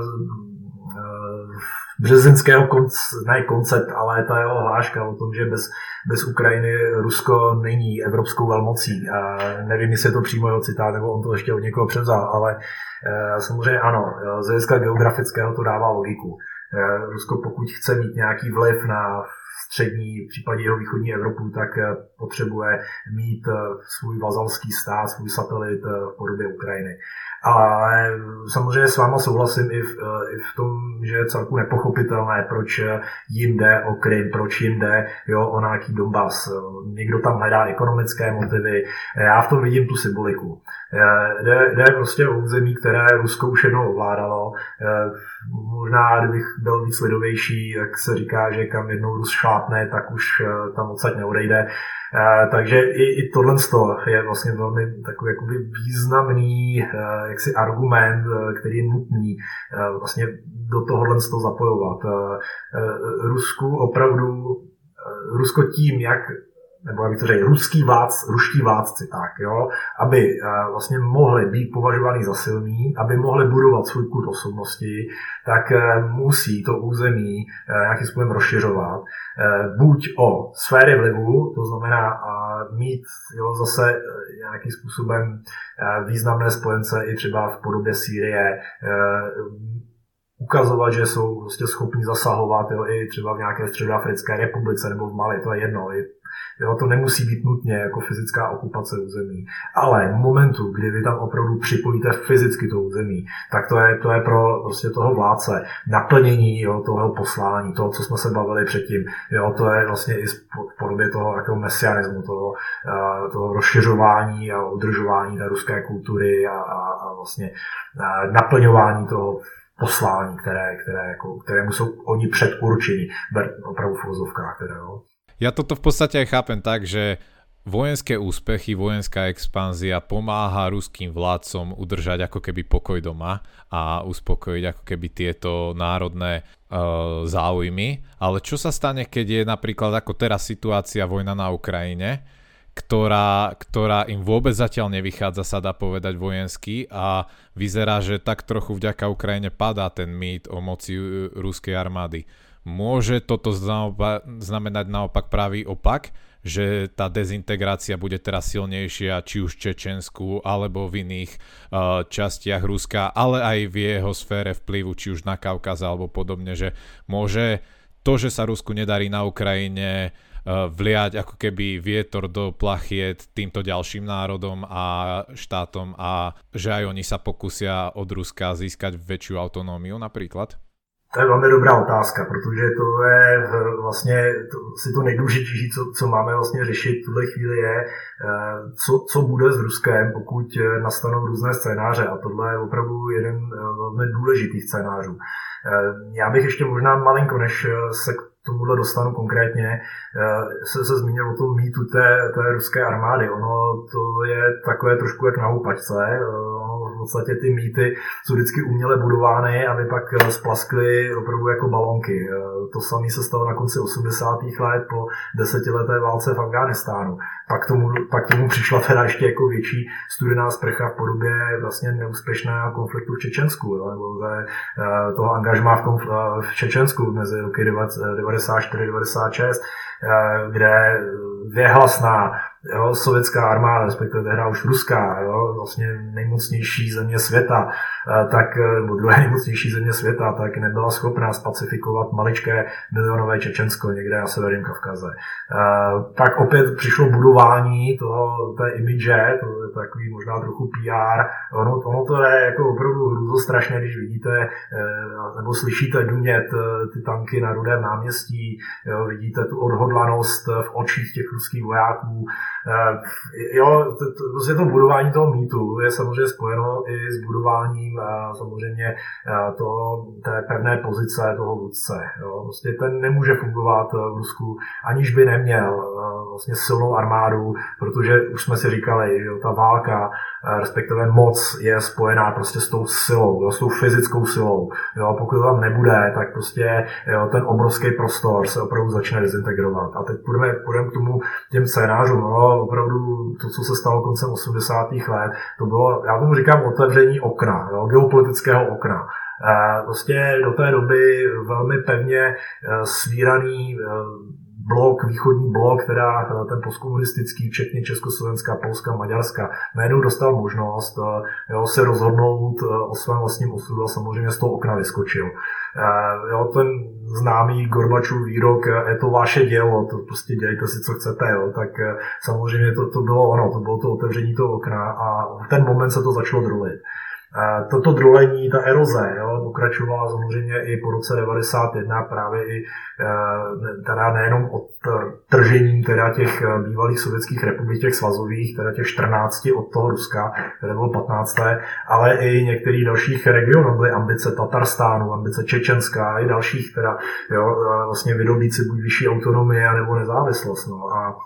březinského koncept, ale ta jeho hláška o tom, že bez Ukrajiny Rusko není evropskou velmocí. Nevím, jestli je to přímo jeho citát, nebo on to ještě od někoho převzal, ale samozřejmě ano, z hlediska geografického to dává logiku. Rusko, pokud chce mít nějaký vliv na střední, případně jeho východní Evropu, tak potřebuje mít svůj vazalský stát, svůj satelit v podobě Ukrajiny. Ale samozřejmě s váma souhlasím i v tom, že je celku nepochopitelné, proč jim jde o Krym, proč jim jde o nějaký Donbas. Někdo tam hledá ekonomické motivy. Já v tom vidím tu symboliku. Jde prostě o území, které Rusko už jednou ovládalo. Možná, kdybych byl víc lidovější, jak se říká, že kam jednou Rus šlápne, tak už tam odsaď neodejde. Takže i tohle je vlastně velmi takový jakoby významný jaksi argument, který je nutný vlastně do tohohle zapojovat. Rusko tím, jak nebo jak to řekl, ruští vládci, tak, jo, aby vlastně mohli být považovaní za silní, aby mohli budovat svůj kult osobnosti, tak musí to území nějakým způsobem rozšiřovat. Buď o sféry vlivu, to znamená mít zase nějakým způsobem významné spojence i třeba v podobě Sýrie, ukazovat, že jsou prostě schopni zasahovat i třeba v nějaké Středoafrické republice nebo v Mali, to je jedno, Jo, to nemusí být nutně jako fyzická okupace území. Ale v momentu, kdy vy tam opravdu připojíte fyzicky to území, tak to je pro prostě toho vládce naplnění, jo, toho poslání, toho, co jsme se bavili předtím. Jo, to je vlastně i v podobě toho jako mesianismu, toho rozšiřování a udržování té ruské kultury a vlastně naplňování toho poslání, kterému jsou oni předurčení, opravdu v uvozovkách. Ja toto v podstate aj chápem tak, že vojenské úspechy, vojenská expanzia pomáha ruským vládcom udržať ako keby pokoj doma a uspokojiť ako keby tieto národné záujmy. Ale čo sa stane, keď je napríklad ako teraz situácia vojna na Ukrajine, ktorá im vôbec zatiaľ nevychádza, sa dá povedať vojensky, a vyzerá, že tak trochu vďaka Ukrajine padá ten mýt o moci ruskej armády. Môže toto znamenať naopak pravý opak, že tá dezintegrácia bude teraz silnejšia, či už v Čečensku, alebo v iných častiach Ruska, ale aj v jeho sfére vplyvu, či už na Kaukaze alebo podobne, že môže to, že sa Rusku nedarí na Ukrajine, vliať ako keby vietor do plachiet týmto ďalším národom a štátom, a že aj oni sa pokusia od Ruska získať väčšiu autonómiu napríklad? To je velmi dobrá otázka, protože to je vlastně to nejdůležitější, co máme vlastně řešit v tuhle chvíli je, co bude s Ruskem, pokud nastanou různé scénáře, a tohle je opravdu jeden velmi důležitých scénářů. Já bych ještě možná malinko, než se k tomuhle dostanu konkrétně, se zmínil o tom mýtu té ruské armády. Ono to je takové trošku jak na houpačce. V podstatě ty mýty jsou vždycky uměle budovány, aby pak splaskly opravdu jako balonky. To samé se stalo na konci 80. let po 10leté válce v Afghánistánu. Pak tomu přišla teda ještě jako větší studená sprcha v podobě vlastně neúspěšného konfliktu v Čečensku, nebo toho angažmá v Čečensku mezi roky 94-96, kde věhlasná sovětská armáda, respektive tehdy už ruská, vlastně nejmocnější země světa, nebo druhé nejmocnější země světa, tak nebyla schopná spacifikovat maličké milionové Čečensko někde na severním Kavkaze. Tak opět přišlo budování té imidže, to je takový možná trochu PR. Ono to je jako opravdu hrůzostrašné, když vidíte nebo slyšíte dunět ty tanky na Rudém náměstí, vidíte tu odhodlanost v očích těch ruských vojáků. Prostě to budování toho mýtu je samozřejmě spojeno i s budováním samozřejmě té pevné pozice toho vůdce. Prostě ten nemůže fungovat v Rusku, aniž by neměl vlastně silnou armádu, protože už jsme si říkali, že ta válka, respektive moc je spojená prostě s tou silou, s tou fyzickou silou. Pokud to tam nebude, tak prostě ten obrovský prostor se opravdu začne dezintegrovat. A teď půjdeme k těm scénářům. Opravdu to, co se stalo koncem 80. let, to bylo, já tomu říkám, otevření okna, geopolitického okna. Prostě do té doby velmi pevně svíraný východní blok, teda ten postkomunistický, včetně Československa, Polska, Maďarska, najednou dostal možnost se rozhodnout o svém vlastním osudu a samozřejmě z toho okna vyskočil. Ten známý Gorbačův výrok, je to vaše dělo, to prostě dělejte si, co chcete, tak samozřejmě to bylo ono, to bylo to otevření toho okna a v ten moment se to začalo drulit. Toto drolení, ta eroze, pokračovala samozřejmě i po roce 91 právě i teda nejenom od tržením teda těch bývalých sovětských republik, těch svazových, teda těch 14 od toho Ruska, které bylo 15. ale i některých dalších regionů, byly ambice Tatarstánu, ambice Čečenska i dalších, teda vlastně vydobít si buď vyšší autonomie nebo nezávislost. A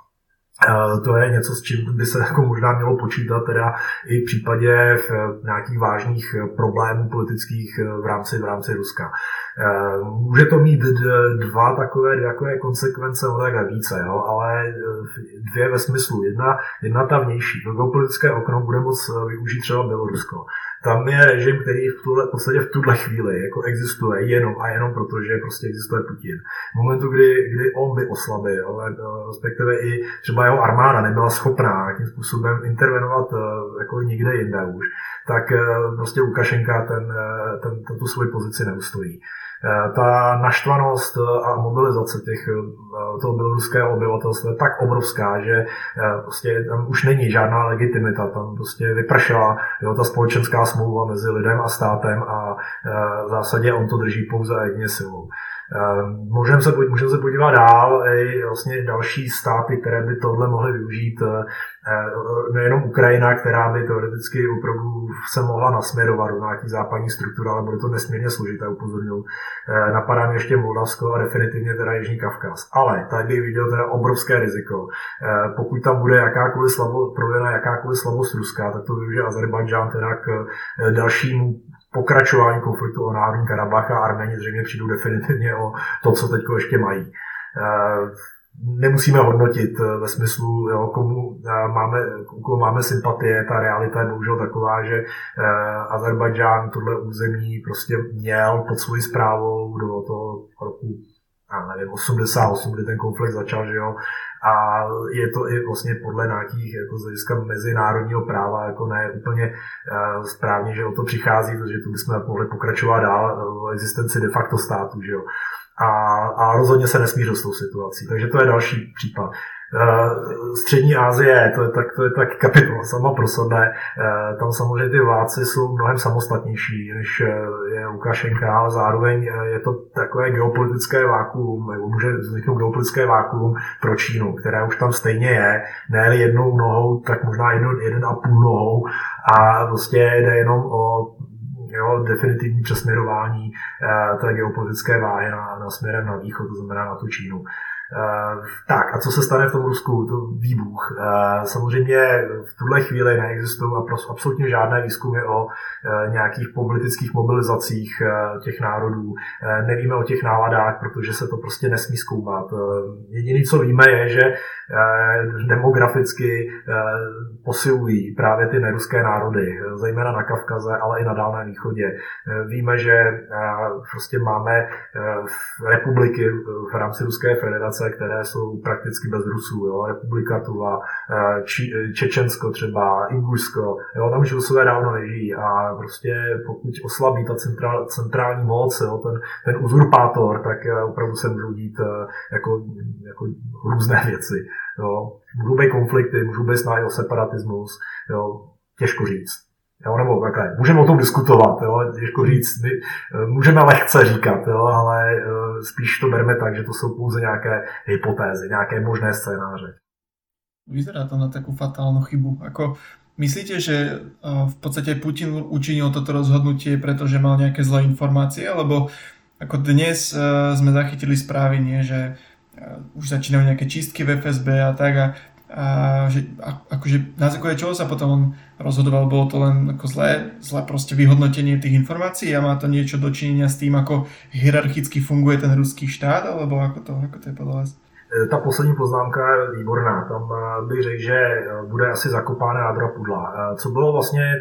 to je něco, s čím by se jako možná mělo počítat teda i v případě nějakých vážných problémů politických v rámci Ruska. Může to mít dvě takové konsekvence, tak více, ale dvě ve smyslu. Jedna ta vnější. To geopolitické okno bude moc využít třeba Bělorusko. Tam je režim, který v tuhle chvíli jako existuje jenom proto, že prostě existuje Putin. V momentu, kdy on by oslabil, respektive i třeba jeho armáda nebyla schopná nějakým způsobem intervenovat jako nikde jinde už, tak prostě Lukašenka tu svoji pozici neustojí. Ta naštvanost a mobilizace toho běloruského obyvatelstva je tak obrovská, že prostě tam už není žádná legitimita, tam prostě vypršela ta společenská smlouva mezi lidem a státem a v zásadě on to drží pouze jedině silou. Můžeme se podívat dál, i vlastně další státy, které by tohle mohly využít, nejenom Ukrajina, která by teoreticky opravdu se mohla nasměrovat do nějakých západních struktur, ale bude to nesmírně složité, upozorňuji. Napadá mě ještě Moldavsko a definitivně teda Jižní Kavkaz. Ale tady bych viděl teda obrovské riziko. Pokud tam bude projevena jakákoliv slabost Ruska, tak to využije Azerbajdžán teda k dalšímu pokračování konfliktu o Náhorní Karabach a Arméni zřejmě přijdou definitivně o to, co teď ještě mají. Nemusíme hodnotit ve smyslu, komu máme sympatie, ta realita je bohužel taková, že Azerbajdžán tohle území prostě měl pod svojí správou do toho roku 88, kdy ten konflikt začal, že jo, a je to i vlastně podle nějakých jako z hlediska mezinárodního práva jako ne úplně správně, že o to přichází, protože tu bychom mohli pokračovat dál o existenci de facto státu, že jo. A rozhodně se nesmířil s tou situací. Takže to je další případ. Střední Asie, to je tak kapitola sama pro sebe. Tam samozřejmě ty vládci jsou mnohem samostatnější, než je Lukašenka, ale zároveň je to takové geopolitické vákuum, nebo může vzniknout geopolitické vákuum pro Čínu, které už tam stejně je, ne jednou nohou, tak možná 1,5 nohou a prostě jde jenom o definitivní přesměrování té geopolitické váhy na směrem na východ, to znamená na tu Čínu. Tak a co se stane v tom Rusku? To výbuch. Samozřejmě v tuhle chvíli neexistují absolutně žádné výzkumy o nějakých politických mobilizacích těch národů. Nevíme o těch náladách, protože se to prostě nesmí zkoumat. Jediné, co víme, je, že demograficky posilují právě ty neruské národy, zejména na Kavkaze, ale i na Dálném východě. Víme, že prostě máme republiky v rámci Ruské federace, které jsou prakticky bez Rusů. Jo? Republika Tuva, Čečensko třeba, Ingušsko, jo? Tam už Rusové dávno nežijí a prostě pokud oslabí ta centrální moc, jo? Ten uzurpátor, tak opravdu se můžou dít jako různé věci. Jo? Můžou být konflikty, můžou být snahy o separatismus, jo? Těžko říct. Jo, nebo takhle. Můžeme o tom diskutovat, jo, těžko říct, můžeme lehce říkat, jo, ale spíš to berme tak, že to jsou pouze nějaké hypotézy, nějaké možné scénáře. Vyzerá to na takú fatálnu chybu. Myslíte, že v podstate Putin učinil toto rozhodnutie, pretože mal nejaké zlé informácie, alebo ako dnes sme zachytili správy, nie, že už začínajú nejaké čistky v FSB a tak že akože na základe čoho sa potom on rozhodoval, bolo to len ako zlé proste vyhodnotenie tých informácií a má to niečo dočinenia s tým, ako hierarchicky funguje ten ruský štát, alebo ako to je podľa vás? Ta poslední poznámka je výborná. Tam bych řekl, že bude asi zakopána jádra pudla. Co bylo vlastně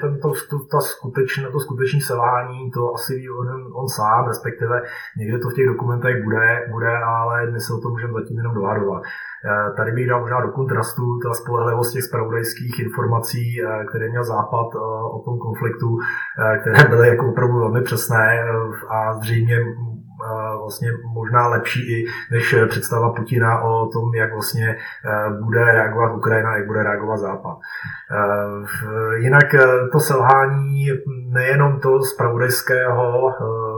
to skutečné selhání, to asi ví on sám, respektive někde to v těch dokumentech bude, ale my se o tom můžeme zatím jenom dohadovat. Tady bych dal možná do kontrastu ta spolehlivost těch zpravodajských informací, které měl Západ o tom konfliktu, které byly jako opravdu velmi přesné a zřejmě vlastně možná lepší i než představa Putina o tom, jak vlastně bude reagovat Ukrajina, jak bude reagovat Západ. Jinak to selhání nejenom to zpravodajského,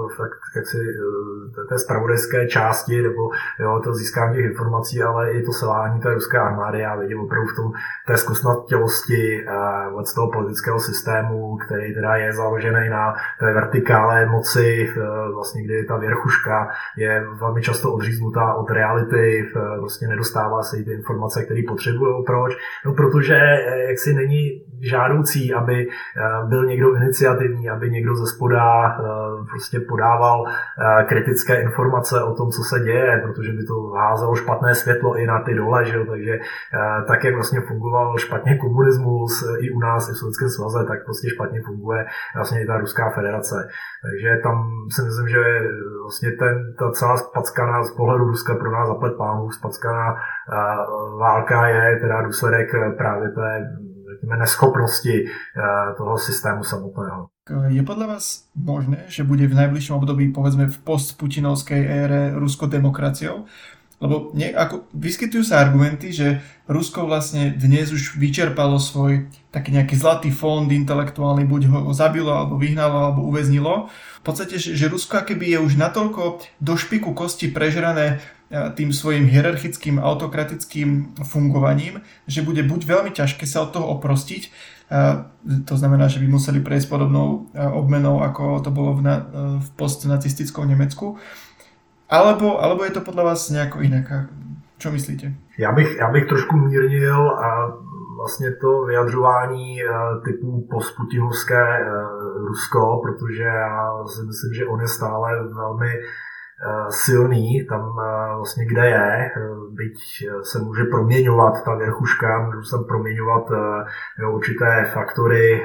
té zpravodajské části nebo to získání těch informací, ale i to selhání té ruské armády. Já vidím opravdu v tom té zkostnatělosti z toho politického systému, který teda je založený na té vertikále moci, vlastně kdy ta věrchuška je velmi často odříznutá od reality, vlastně nedostává se jí ty informace, které potřebují. Proč? No, protože jaksi není žádoucí, aby byl někdo iniciativní, aby někdo ze spoda prostě podával kritické informace o tom, co se děje, protože by to házelo špatné světlo i na ty dole, že jo? Takže tak, jak vlastně fungoval špatně komunismus i u nás, i v Sovětském svaze, tak prostě špatně funguje vlastně i ta Ruská federace. Takže tam si myslím, že vlastně ta celá spackaná z pohledu Ruska pro nás zaplet pánů, spackaná válka je teda důsledek právě té řekněme, neschopnosti toho systému samotného. Je podľa vás možné, že bude v najbližšom období, povedzme v postputinovskej ére Rusko demokraciou? Lebo vyskytujú sa argumenty, že Rusko vlastne dnes už vyčerpalo svoj taký nejaký zlatý fond intelektuálny, buď ho zabilo, alebo vyhnalo, alebo uväznilo. V podstate, že Rusko akoby je už natoľko do špiku kosti prežrané tým svojim hierarchickým autokratickým fungovaním, že bude buď veľmi ťažké sa od toho oprostiť, to znamená, že by museli prejsť podobnou obmenou, ako to bolo v postnacistickom Nemecku, alebo je to podľa vás nejako inak? Čo myslíte? Já bych trošku mírnil a vlastně to vyjadřování typu postputinovské Rusko, protože já si myslím, že on je stále velmi silný tam vlastně, kde je, byť se může proměňovat ta verchuška, můžu se proměňovat určité faktory,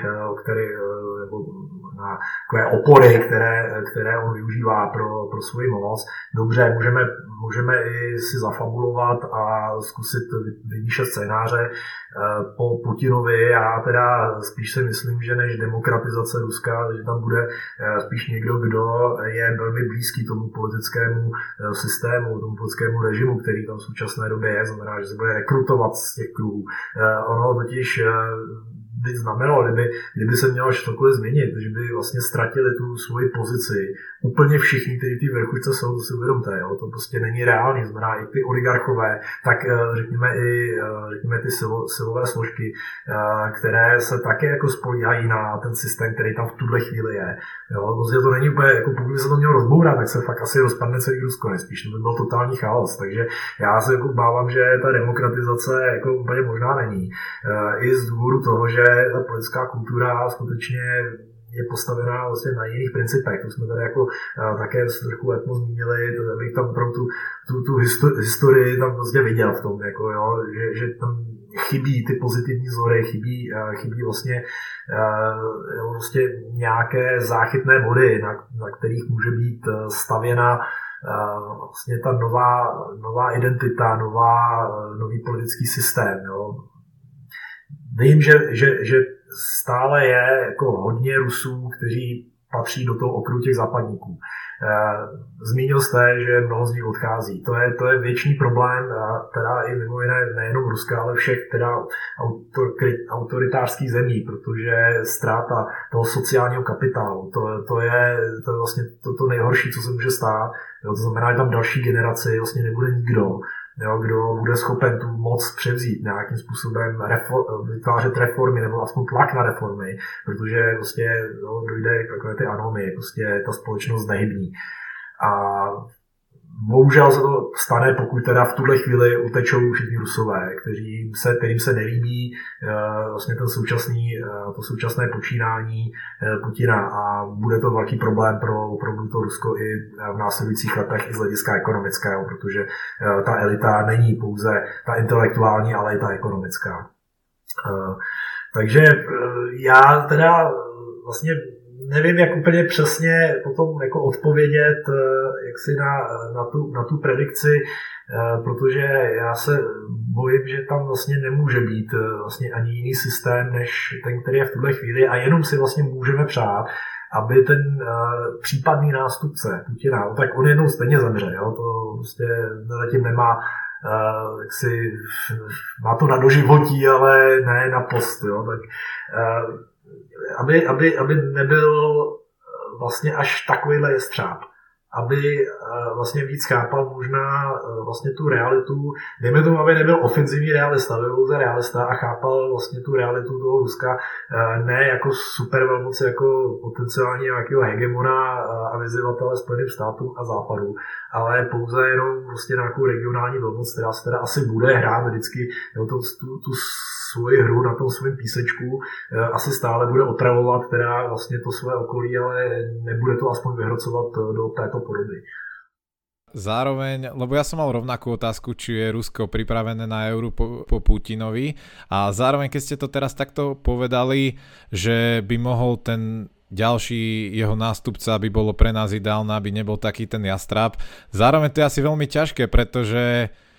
nebo na takové opory, které on využívá pro svou moc. Dobře, můžeme i si zafabulovat a zkusit vymýšlet scénáře po Putinovi. Já teda spíš si myslím, že než demokratizace Ruska, že tam bude spíš někdo, kdo je velmi blízký tomu politickému systému, tomu politickému režimu, který tam v současné době je, znamená, že se bude rekrutovat z těch kruhů. Ono totiž by znamenalo, kdyby se mělo cokoliv změnit, že by vlastně ztratili tu svoji pozici úplně všichni, kteří v té vrchušce jsou, to si uvědomte, jo? To prostě není reálný, znamená i ty oligarchové, tak řekněme ty silové složky, které se také jako spolíhají na ten systém, který tam v tuhle chvíli je. Jo? Prostě to není úplně, jako pokud by se to mělo rozbourat, tak se fakt asi rozpadne celý Rusko, nespíš, to by byl totální chaos, takže já se jako bávám, že ta demokratizace jako úplně možná není. I z důvodu toho, že ta politická kultura skutečně je postavená vlastně na jiných principech. To jsme tady jako také trochu letmo zmínili, abych tam pro tu historii tam vlastně viděl v tom, jako, jo, že tam chybí ty pozitivní vzory, chybí vlastně nějaké záchytné body, na kterých může být stavěna vlastně ta nová identita, nový politický systém. Jo. Vím, že stále je jako hodně Rusů, kteří patří do toho okruhu těch západníků. Zmínil jste, že mnoho z nich odchází. To je věčný problém, teda i mimo jiné nejenom Ruska, ale všech teda autoritářských zemí, protože ztráta toho sociálního kapitálu, to je vlastně to nejhorší, co se může stát. Jo, to znamená, že tam další generaci vlastně nebude nikdo, jo, kdo bude schopen tu moc převzít nějakým způsobem, vytvářet reformy nebo aspoň tlak na reformy, protože prostě dojde k takové ty anomie, prostě ta společnost nehybní. A bohužel se to stane, pokud teda v tuhle chvíli utečou všichni Rusové, kterým se nelíbí vlastně to současné počínání Putina a bude to velký problém pro to Rusko i v následujících letech i z hlediska ekonomického, protože ta elita není pouze ta intelektuální, ale i ta ekonomická. Takže já teda vlastně nevím, jak úplně přesně potom jako odpovědět jaksi na tu predikci, protože já se bojím, že tam vlastně nemůže být vlastně ani jiný systém, než ten, který je v tuhle chvíli a jenom si vlastně můžeme přát, aby ten případný nástupce Putina, tak on jednou stejně zemře, jo? To prostě zatím nemá má to na doživotí, ale ne na post, jo? Tak aby nebyl vlastně až takovýhle jestřáb, aby vlastně víc chápal možná vlastně tu realitu, dejme tomu, aby nebyl ofenzivní realista, aby byl pouze realista a chápal vlastně tu realitu toho Ruska ne jako supervelmoci, jako potenciálně nějakého hegemona a vyzývatele Spojeným státům a Západu, ale pouze jenom vlastně nějakou regionální velmoc, která se teda asi bude hrát vždycky tu svoji hru na tom svém písečku, asi stále bude otravovat teda vlastně to své okolí, ale nebude to aspoň vyhrocovat do této podoby. Zároveň, lebo ja som mal rovnakú otázku, či je Rusko pripravené na euro po Putinovi a zároveň, keď ste to teraz takto povedali, že by mohol ten ďalší jeho nástupca, aby bolo pre nás ideálne, aby nebol taký ten jastrab. Zároveň to je asi veľmi ťažké, pretože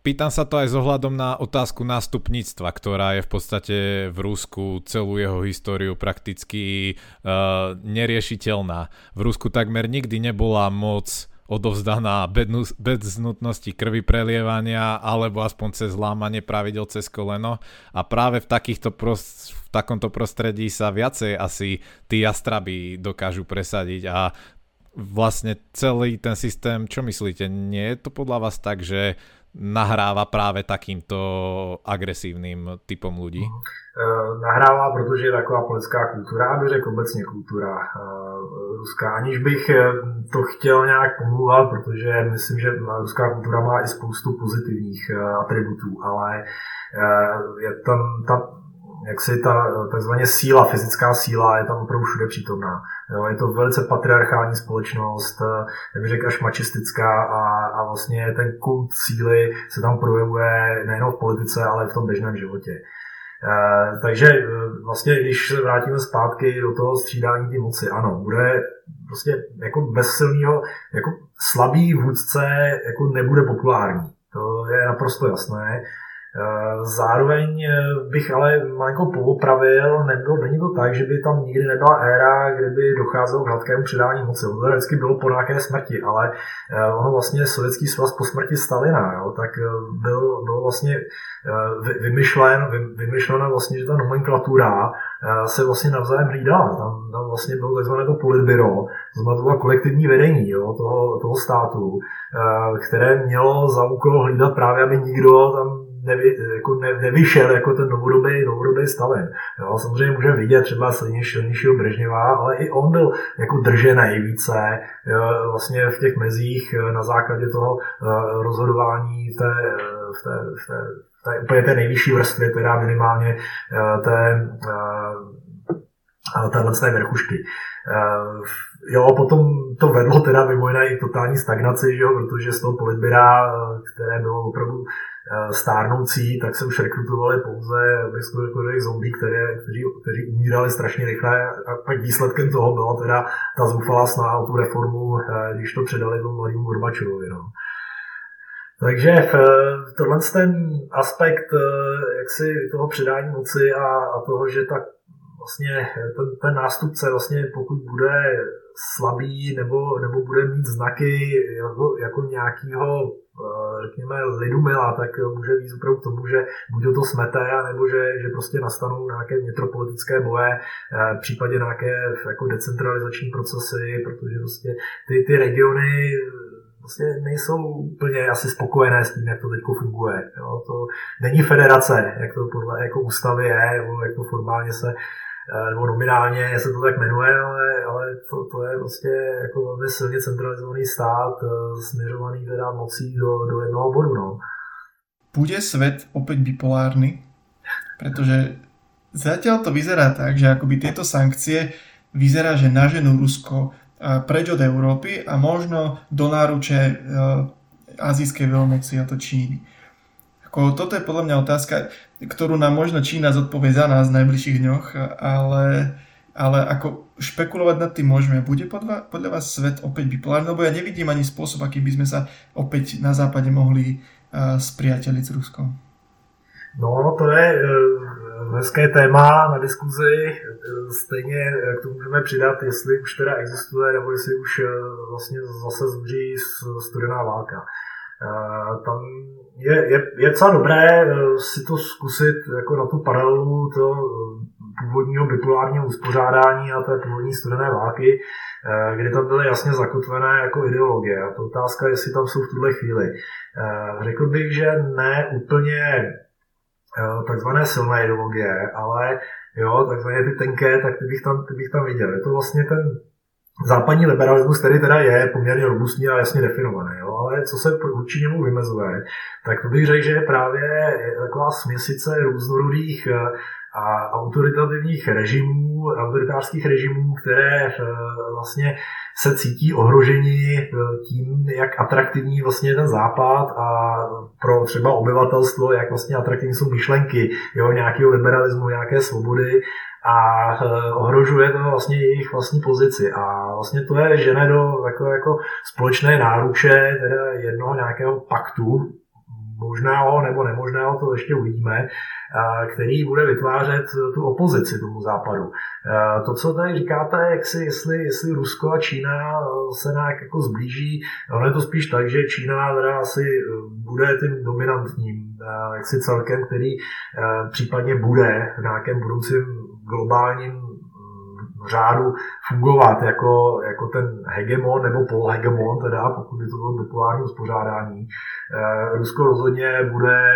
Pýtam sa to aj s ohľadom na otázku nástupníctva, ktorá je v podstate v Rusku celú jeho históriu prakticky neriešiteľná. V Rusku takmer nikdy nebola moc odovzdaná bez nutnosti krvi prelievania alebo aspoň cez lámanie pravidel cez koleno a práve v takomto prostredí sa viacej asi tí jastraby dokážu presadiť a vlastne celý ten systém, čo myslíte, nie je to podľa vás tak, že nahrává právě takýmto agresívnym typom ľudí? Nahrává, protože je taková politická kultura, já bych řekl obecně kultura ruská, aniž bych to chtěl nějak pomlouvat, protože myslím, že ruská kultura má i spoustu pozitivních atributů, ale je tam ta takzvaně síla, fyzická síla je tam opravdu všude přítomná. Jo, je to velice patriarchální společnost, jak bych řekl, až machistická a vlastně ten kult síly se tam projevuje nejen v politice, ale i v tom běžném životě. Takže vlastně, když se vrátíme zpátky do toho střídání té moci, ano, bude prostě jako bez silného, jako slabý vůdce jako nebude populární. To je naprosto jasné. Zároveň bych ale malinko poopravil, není to tak, že by tam nikdy nebyla éra, kdyby docházelo k hladkému předání moci. To vždycky bylo po nějaké smrti, ale ono vlastně Sovětský svaz po smrti Stalina, jo, tak byl vlastně vymyšlena vlastně, že ta nomenklatura se vlastně navzájem hlídala. Tam vlastně bylo takzvané to politbyro, to znamená kolektivní vedení, jo, toho státu, které mělo za úkol hlídat právě, aby nikdo tam nevyšel jako ten novodobý Stalin. Jo, samozřejmě můžeme vidět třeba silnějšího Brežněva, ale i on byl jako držený více vlastně v těch mezích na základě toho rozhodování úplně té nejvyšší vrstvy, teda minimálně téhle vrchušky. Jo, potom to vedlo teda mimo jiné i k totální stagnaci, že jo, protože z toho politbyra, které bylo opravdu stárnoucí, tak se už rekrutovali pouze zombie, kteří umírali strašně rychle a pak výsledkem toho byla teda ta zoufalá snaha o tu reformu, když to předali tomu mladému Gorbačovovi. No. Takže tohle ten aspekt jaksi toho předání moci a toho, že tak vlastně ten nástupce vlastně pokud bude slabý nebo bude mít znaky jako nějakého řekněme lidumila, tak může víc opravdu k tomu, že buď to smete, nebo že prostě nastanou nějaké vnitropolitické boje, v případě nějaké jako decentralizační procesy, protože prostě ty regiony vlastně nejsou úplně asi spokojené s tím, jak to teď funguje. Jo? To není federace, jak to podle jako ústavy je, nebo jak to formálně se nebo nominálně se to tak jmenuje, ale to je prostě jako velmi silně centralizovaný stát směřovaný teda mocí do jednoho bodu. No. Bude svet opäť bipolárny? Pretože zatiaľ to vyzerá tak, že akoby tieto sankcie vyzerá, že naženú Rusko preč od Európy a možno do náruče azijskej veľmoci, a to Číny. Toto je podľa mňa otázka, ktorú nám možno Čína zodpovie za nás v najbližších dňoch, ale ako špekulovať nad tým môžeme. Bude podľa vás svet opäť bipolárny? Lebo ja nevidím ani spôsob, aký by sme sa opäť na západe mohli spriateliť s Ruskom. No, to je hezké téma na diskuzi. Stejně k tomu můžeme přidat, jestli už teda existuje, nebo jestli už vlastně zase zuří studená válka. Tam je docela dobré si to zkusit jako na tu paralelu toho původního bipolárního uspořádání a té původní studené války, kdy tam byly jasně zakotvené jako ideologie. A to otázka, jestli tam jsou v tuhle chvíli. Řekl bych, že ne úplně takzvané silné ideologie, ale jo, takzvané ty tenké, tak ty bych tam viděl. Je to vlastně ten západní liberalismus, který teda je poměrně robustní a jasně definovaný, jo? Ale co se vůči němu vymezuje, tak to bych řekl, že je právě taková směsice různorodých a autoritativních režimů, autoritářských režimů, které vlastně se cítí ohroženi tím, jak atraktivní vlastně je ten západ a pro třeba obyvatelstvo, jak vlastně atraktivní jsou myšlenky, jo, nějakého liberalismu, nějaké svobody a ohrožuje to vlastně jejich vlastní pozici. A vlastně to je žene do takové jako společné náruče teda jednoho nějakého paktu, možného nebo nemožného, to ještě uvidíme, který bude vytvářet tu opozici tomu západu. To, co tady říkáte, jestli Rusko a Čína se nějak jako zblíží, ono je to spíš tak, že Čína teda asi bude tím dominantním jaksi celkem, který případně bude v nějakém budoucím globálním řádu fungovat jako ten hegemon nebo polhegemon, teda pokud by to bylo bipolární uspořádání. Rusko rozhodně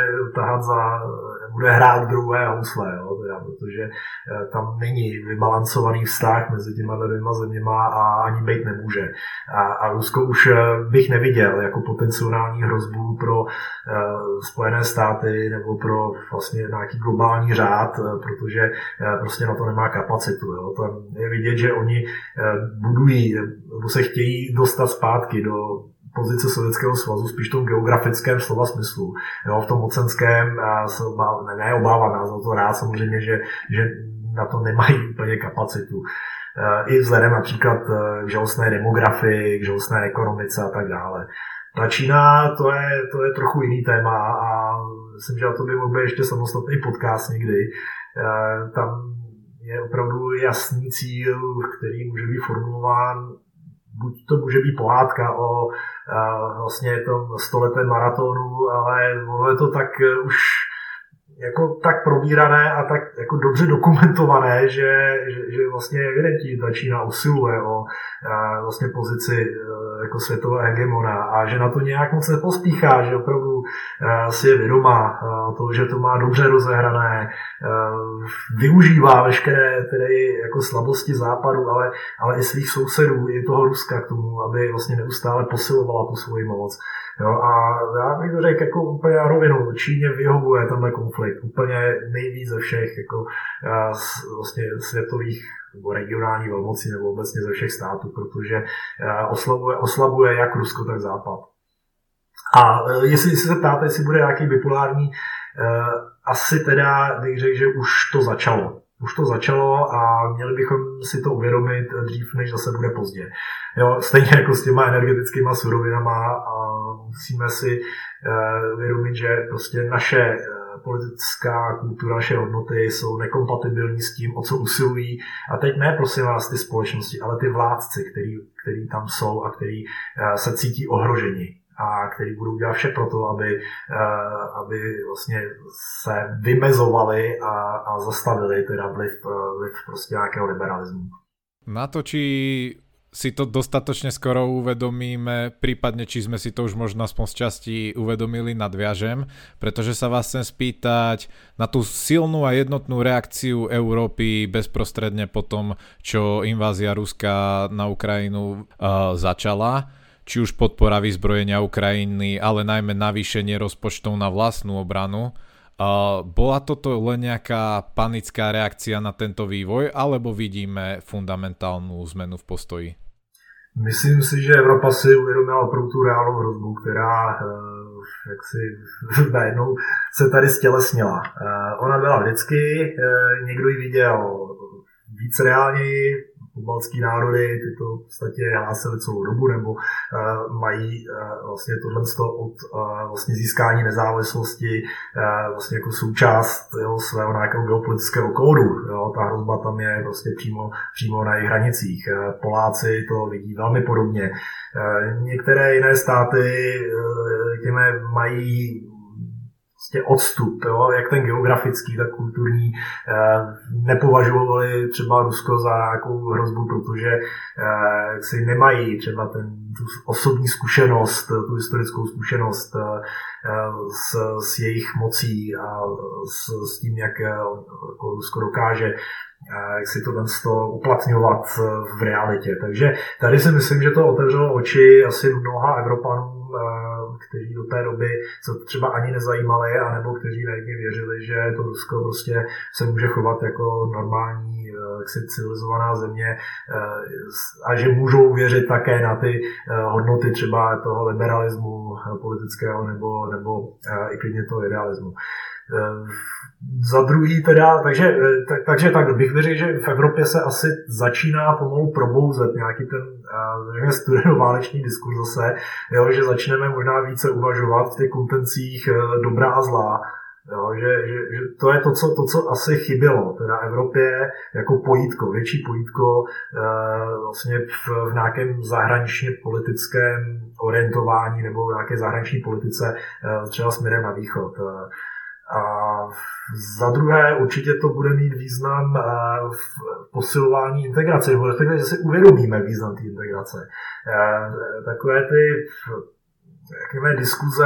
bude hrát druhé housle, jo, teda, protože tam není vybalancovaný vztah mezi těma dvěma zeměma a ani být nemůže. A Rusko už bych neviděl jako potenciální hrozbu pro Spojené státy nebo pro vlastně nějaký globální řád, protože prostě na to nemá kapacitu. Jo. Tam je vidět, že oni budují, nebo se chtějí dostat zpátky do pozice Sovětského svazu, spíš v tom geografickém slova smyslu. Jo, v tom mocenském se neobávám, já za to rád samozřejmě, že na to nemají úplně kapacitu. I vzhledem například k žalostné demografii, k žalostné ekonomice a tak dále. Ta Čína, to je trochu jiný téma a myslím, že to by mohl být ještě samostatný podcast někdy. Tam je opravdu jasný cíl, který může být formulován, buď to může být pohádka o vlastně tom 100letém maratonu, ale ono je to tak už jako tak probírané a tak jako dobře dokumentované, že vlastně evidentní ta Čína usiluje o vlastně pozici jako světové hegemona a že na to nějak moc nepospíchá, že opravdu si je vědomá toho, že to má dobře rozehrané, využívá veškeré tedy jako slabosti západu, ale i svých sousedů, i toho Ruska k tomu, aby vlastně neustále posilovala tu svoji moc. Jo, a já bych to řekl jako úplně na rovinu, Číně vyhovuje tenhle konflikt úplně nejvíc ze všech jako vlastně světových nebo regionálních velmocí nebo obecně ze všech států, protože oslabuje jak Rusko, tak Západ. A jestli se ptáte, jestli bude nějaký bipolární, asi teda bych řekl, že už to začalo. Už to začalo a měli bychom si to uvědomit dřív, než zase bude pozdě. Jo, stejně jako s těma energetickýma surovinama a musíme si uvědomit, že prostě naše politická kultura, naše hodnoty jsou nekompatibilní s tím, o co usilují. A teď ne, prosím vás, ty společnosti, ale ty vládci, který tam jsou a který se cítí ohroženi a který budou dělat vše pro to, aby vlastně se vymezovali a zastavili teda vliv prostě nějakého liberalismu. Na to, či si to dostatočne skoro uvedomíme, prípadne či sme si to už možno aspoň z časti uvedomili, nadviažem, pretože sa vás chcem spýtať na tú silnú a jednotnú reakciu Európy bezprostredne po tom, čo invázia Ruska na Ukrajinu začala. Či už podpora vyzbrojenia Ukrajiny, ale najmä navýšenie rozpočtov na vlastnú obranu. Bola toto len nejaká panická reakcia na tento vývoj, alebo vidíme fundamentálnu zmenu v postoji? Myslím si, že Evropa si uvědomila opravdu tu reálnou hrozbu, která jaksi najednou se tady stělesnila. Ona byla vždycky, někdo ji viděl víc reálněji, pobaltský národy, ty to v podstatě hlásily celou dobu, nebo mají vlastně tohle od vlastně získání nezávislosti vlastně jako součást svého nějakého geopolitického kódu. Jo, ta hrozba tam je prostě přímo na jejich hranicích. Poláci to vidí velmi podobně. Některé jiné státy mají odstup, jo, jak ten geografický, tak kulturní, nepovažovali třeba Rusko za nějakou hrozbu, protože si nemají třeba tu osobní zkušenost, tu historickou zkušenost s jejich mocí a s tím, jak jako Rusko dokáže jak si to uplatňovat v realitě. Takže tady si myslím, že to otevřelo oči asi mnoha Evropanů, kteří do té doby se třeba ani nezajímali, anebo kteří naivně věřili, že to Rusko prostě se může chovat jako normální civilizovaná země a že můžou věřit také na ty hodnoty třeba toho liberalismu politického nebo i klidně toho idealismu. Za druhý teda, takže tak bych řekl, že v Evropě se asi začíná pomalu probouzet nějaký ten studenoválečný diskurs zase, jo, že začneme možná více uvažovat v těch kontencích dobrá a zlá. Jo, že to je to, co asi chybělo teda Evropě jako pojítko, větší pojítko vlastně v nějakém zahraničně politickém orientování nebo v nějaké zahraniční politice třeba směrem na východ. A za druhé určitě to bude mít význam v posilování integrace, nebo respektive, že si uvědomíme význam té integrace. Takové ty diskuze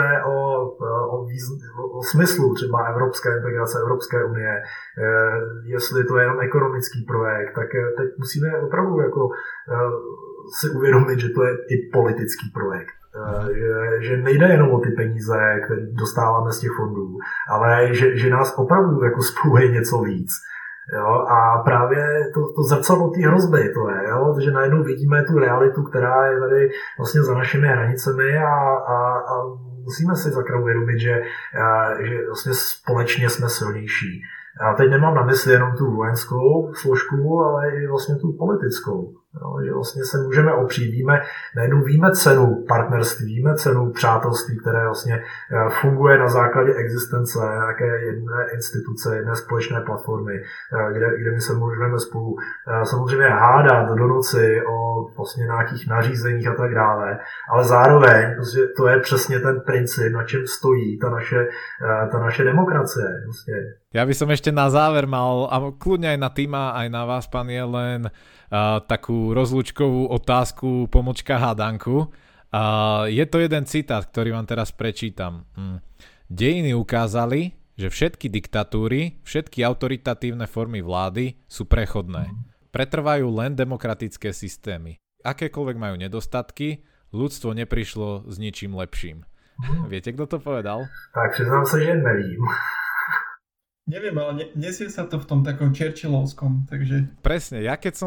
o smyslu třeba evropské integrace, Evropské unie, jestli to je jenom ekonomický projekt, tak teď musíme opravdu jako si uvědomit, že to je i politický projekt. Že nejde jenom o ty peníze, které dostáváme z těch fondů, ale že nás opravdu jako spojuje něco víc. Jo, a právě to zrcadlo té hrozby to je, jo, že najednou vidíme tu realitu, která je tady vlastně za našimi hranicemi a musíme si zakrát uvědomit, že vlastně společně jsme silnější. A teď nemám na mysli jenom tu vojenskou složku, ale i vlastně tu politickou. Jo, že vlastně se můžeme opřít, najednou víme cenu partnerství, víme cenu přátelství, které vlastně funguje na základě existence nějaké jedné instituce, jedné společné platformy, kde my se můžeme spolu samozřejmě hádat do noci o vlastně nějakých nařízeních a tak dále, ale zároveň to je přesně ten princip, na čem stojí ta naše demokracie. Vlastně. Ja by som ešte na záver mal, a kľudne aj na Tima, aj na vás, pán Jelen, takú rozlúčkovú otázku, pomočka hádanku. Je to jeden citát, ktorý vám teraz prečítam. Dejiny ukázali, že všetky diktatúry, všetky autoritatívne formy vlády sú prechodné. Pretrvajú len demokratické systémy. Akékoľvek majú nedostatky, ľudstvo neprišlo s ničím lepším. Viete, kto to povedal? Tak přiznám sa, že nevím. Neviem, ale nesie sa to v tom takom Churchillovskom, takže... Presne, ja keď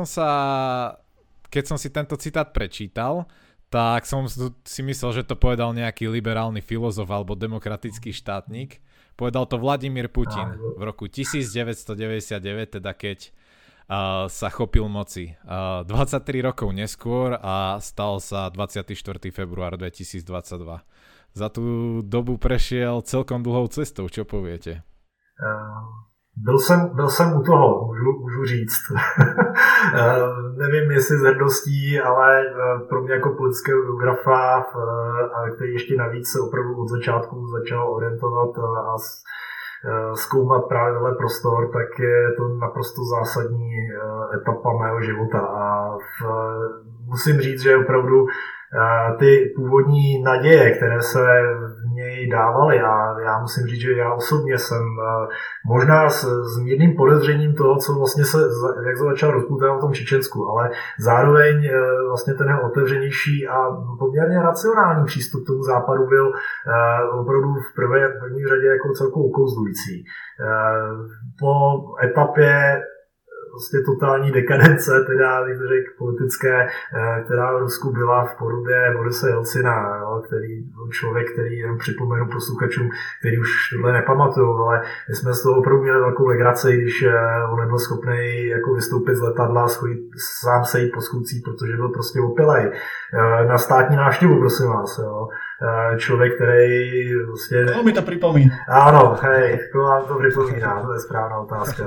som si tento citát prečítal, tak som si myslel, že to povedal nejaký liberálny filozof alebo demokratický štátnik. Povedal to Vladimír Putin v roku 1999, teda keď sa chopil moci. 23 rokov neskôr a stal sa 24. február 2022. Za tú dobu prešiel celkom dlhou cestou, čo poviete? Byl jsem u toho, můžu říct. Nevím, jestli z hrdostí, ale pro mě jako politického geografa, který ještě navíc se opravdu od začátku začal orientovat a zkoumat právě tenhle prostor, tak je to naprosto zásadní etapa mého života. A musím říct, že opravdu ty původní naděje, které se v něj dávaly, a já musím říct, že já osobně jsem možná s mírným podezřením toho, co vlastně jak se začal rozpoutávat v tom Čečensku, ale zároveň vlastně ten jeho otevřenější a poměrně racionální přístup k tomu západu byl opravdu v první řadě jako celkově okouzlující. Po etapě vlastně totální dekadence, teda bych řekl politické, která v Rusku byla v podobě Borise Jelcina, jo, který byl člověk, který, jen připomenu posluchačům, který už tohle nepamatují, ale my jsme z toho opravdu měli velkou legraci, když on nebyl schopný jako vystoupit z letadla, sám sejít po schůdcích, protože byl prostě opilej. Na státní návštěvu, prosím vás. Jo. Člověk, který vlastně... To mi to připomíná. Ano, hej, to vám to připomíná, to je správná otázka.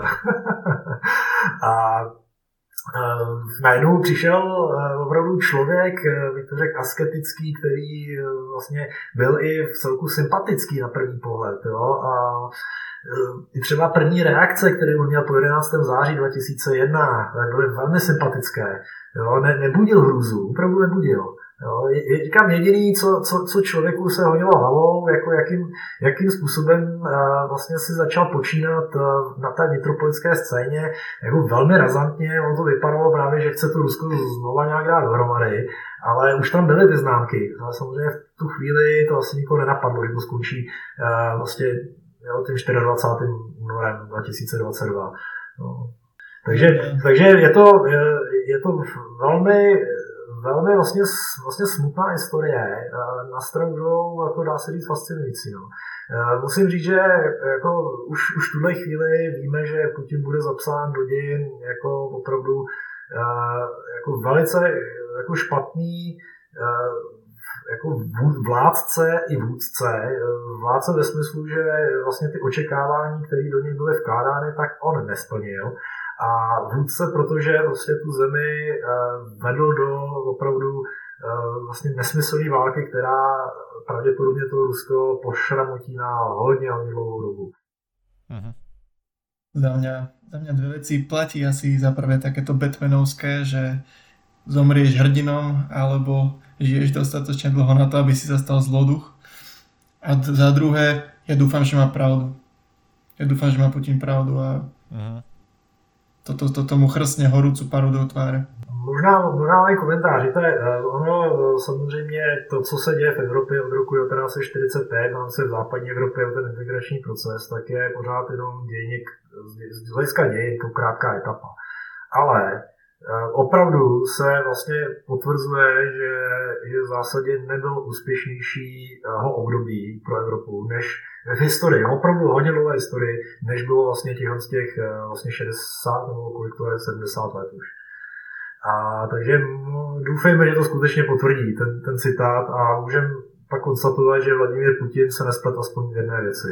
A najednou přišel opravdu člověk, bych to řekl, asketický, který vlastně byl i v celku sympatický na první pohled. Jo? A i třeba první reakce, které on měl po 11. září 2001, byly velmi sympatické. Jo? Nebudil hrůzu, opravdu nebudil. Jo, říkám, jediný, co člověku se honilo hlavou, jako jakým způsobem vlastně si začal počínat na té vnitropolitické scéně, jako velmi razantně, ono to vypadalo právě, že chce to Rusko znova nějak dát dohromady, ale už tam byly ty známky, ale samozřejmě v tu chvíli to asi nikoho nenapadlo, že to skončí vlastně tím 24. únorem 2022. No. Takže je to velmi vlastně smutná historie, na stranu druhou, jako dá se říct, fascinující. No. Musím říct, že jako už v tuhle chvíli víme, že Putin bude zapsán do dějin jako opravdu jako velice jako špatný jako vládce i vůdce. Vládce ve smyslu, že vlastně ty očekávání, které do něj byly vkládány, tak on nesplnil. A vůdce, protože vlastně tu zemi vedl do opravdu vlastně nesmyslné války, která pravděpodobně to Rusko pošramotí na hodně dlouhou dobu. Uh-huh. Za mňa dve veci platí asi za prvé takéto Batmanovské, že zomrieš hrdinom alebo žiješ dostatočne dlho na to, aby si sa stal zloduch. A za druhé, ja dúfam, že má pravdu. Ja dúfam, že má Putin pravdu a toto mu chrstne horúcu paru do tváre. Možná mají komentář. Ono samozřejmě to, co se děje v Evropě od roku 1945, mám se v západní Evropě o ten integrační proces, tak je pořád jenom dějník, z hlediska dějin, to krátká etapa. Ale opravdu se vlastně potvrzuje, že v zásadě nebyl úspěšnějšího období pro Evropu než v historii, opravdu hodně dlouhé historii, než bylo vlastně těch vlastně 60 nebo kolik to je, 70 let už. A takže doufejme, že to skutečně potvrdí ten citát a můžeme pak konstatovat, že Vladimír Putin sa nesplet aspoň v jedné věci.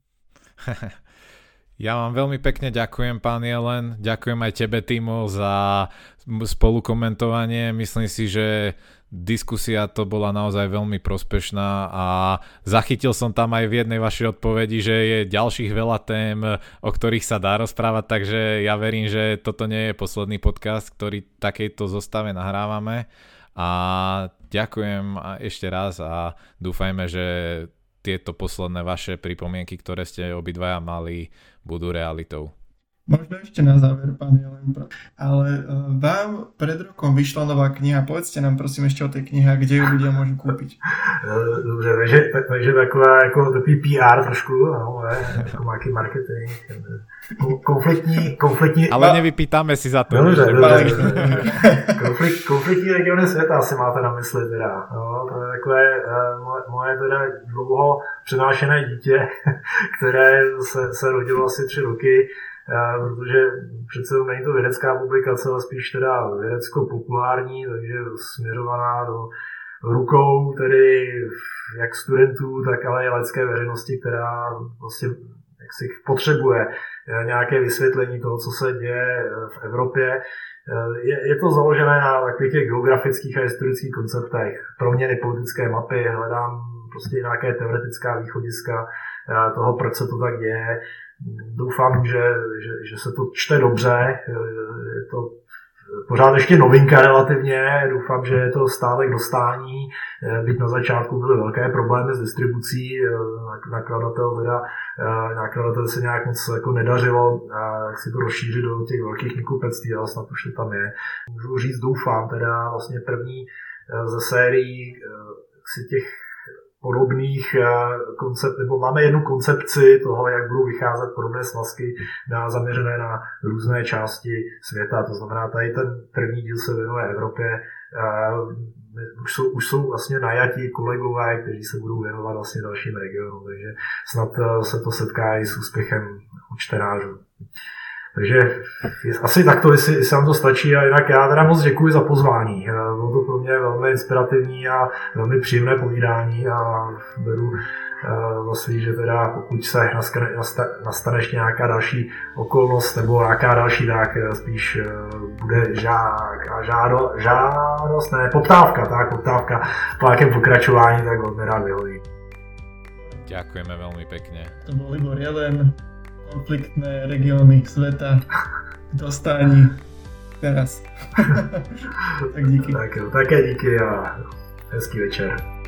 Ja vám veľmi pekne ďakujem, pán Jelen. Ďakujem aj tebe, Timo, za spolukomentovanie. Myslím si, že diskusia to bola naozaj veľmi prospešná a zachytil som tam aj v jednej vašej odpovedi, že je ďalších veľa tém, o ktorých sa dá rozprávať, takže ja verím, že toto nie je posledný podcast, ktorý takejto zostave nahrávame. A ďakujem ešte raz a dúfajme, že tieto posledné vaše pripomienky, ktoré ste obidvaja mali, budú realitou. Možno ešte na záver, pán Jelen, ale vám pred rokom vyšla nová kniha. Povedzte nám prosím ešte o tej knihe, kde ju ľudia môžu kúpiť. Dobře, takže taková jako takový PR trošku, no, jako nějaký marketing, konfliktní. Ale nevypýtáme si za to. Dobře. Konfliktní regiony světa asi máte na mysli teda. No, to je takové moje teda dlouho přenášené dítě, které se rodilo asi 3 roky. Protože přece není to vědecká publikace, ale spíš teda vědecko-populární, takže směřovaná do rukou tedy jak studentů, tak ale i laické veřejnosti, která vlastně jaksi potřebuje nějaké vysvětlení toho, co se děje v Evropě. Je to založené na takových těch geografických a historických konceptech, proměny politické mapy, hledám prostě nějaké teoretická východiska toho, proč se to tak děje. Doufám, že se to čte dobře, je to pořád ještě novinka relativně, doufám, že je to stále k dostání, byť na začátku byly velké problémy s distribucí, nakladatel se nějak moc jako nedařilo, jak si to rozšířit do těch velkých knihkupectví, ale snad už to tam je. Můžu říct, doufám, teda vlastně první ze sérií si těch podobných koncept, nebo máme jednu koncepci toho, jak budou vycházet podobné svazky zaměřené na různé části světa. To znamená, tady ten první díl se věnuje Evropě. Už jsou vlastně najatí kolegové, kteří se budou věnovat vlastně dalším regionům, takže snad se to setká i s úspěchem u čtenářů. Takže asi takto, jestli vám to stačí, a jinak já teda moc děkuji za pozvání. Bylo to pro mě velmi inspirativní a velmi příjemné povídání a beru za svý, že teda pokud se nastane ještě nějaká další okolnost nebo nějaká další, tak spíš bude poptávka po nějakém pokračování, tak velmi rád vyhoví. Ďakujeme veľmi pekne. To bol Libor Jelen. Konfliktné regióny sveta k dostání teraz. Tak díky. Tak jo, také díky a hezký večer.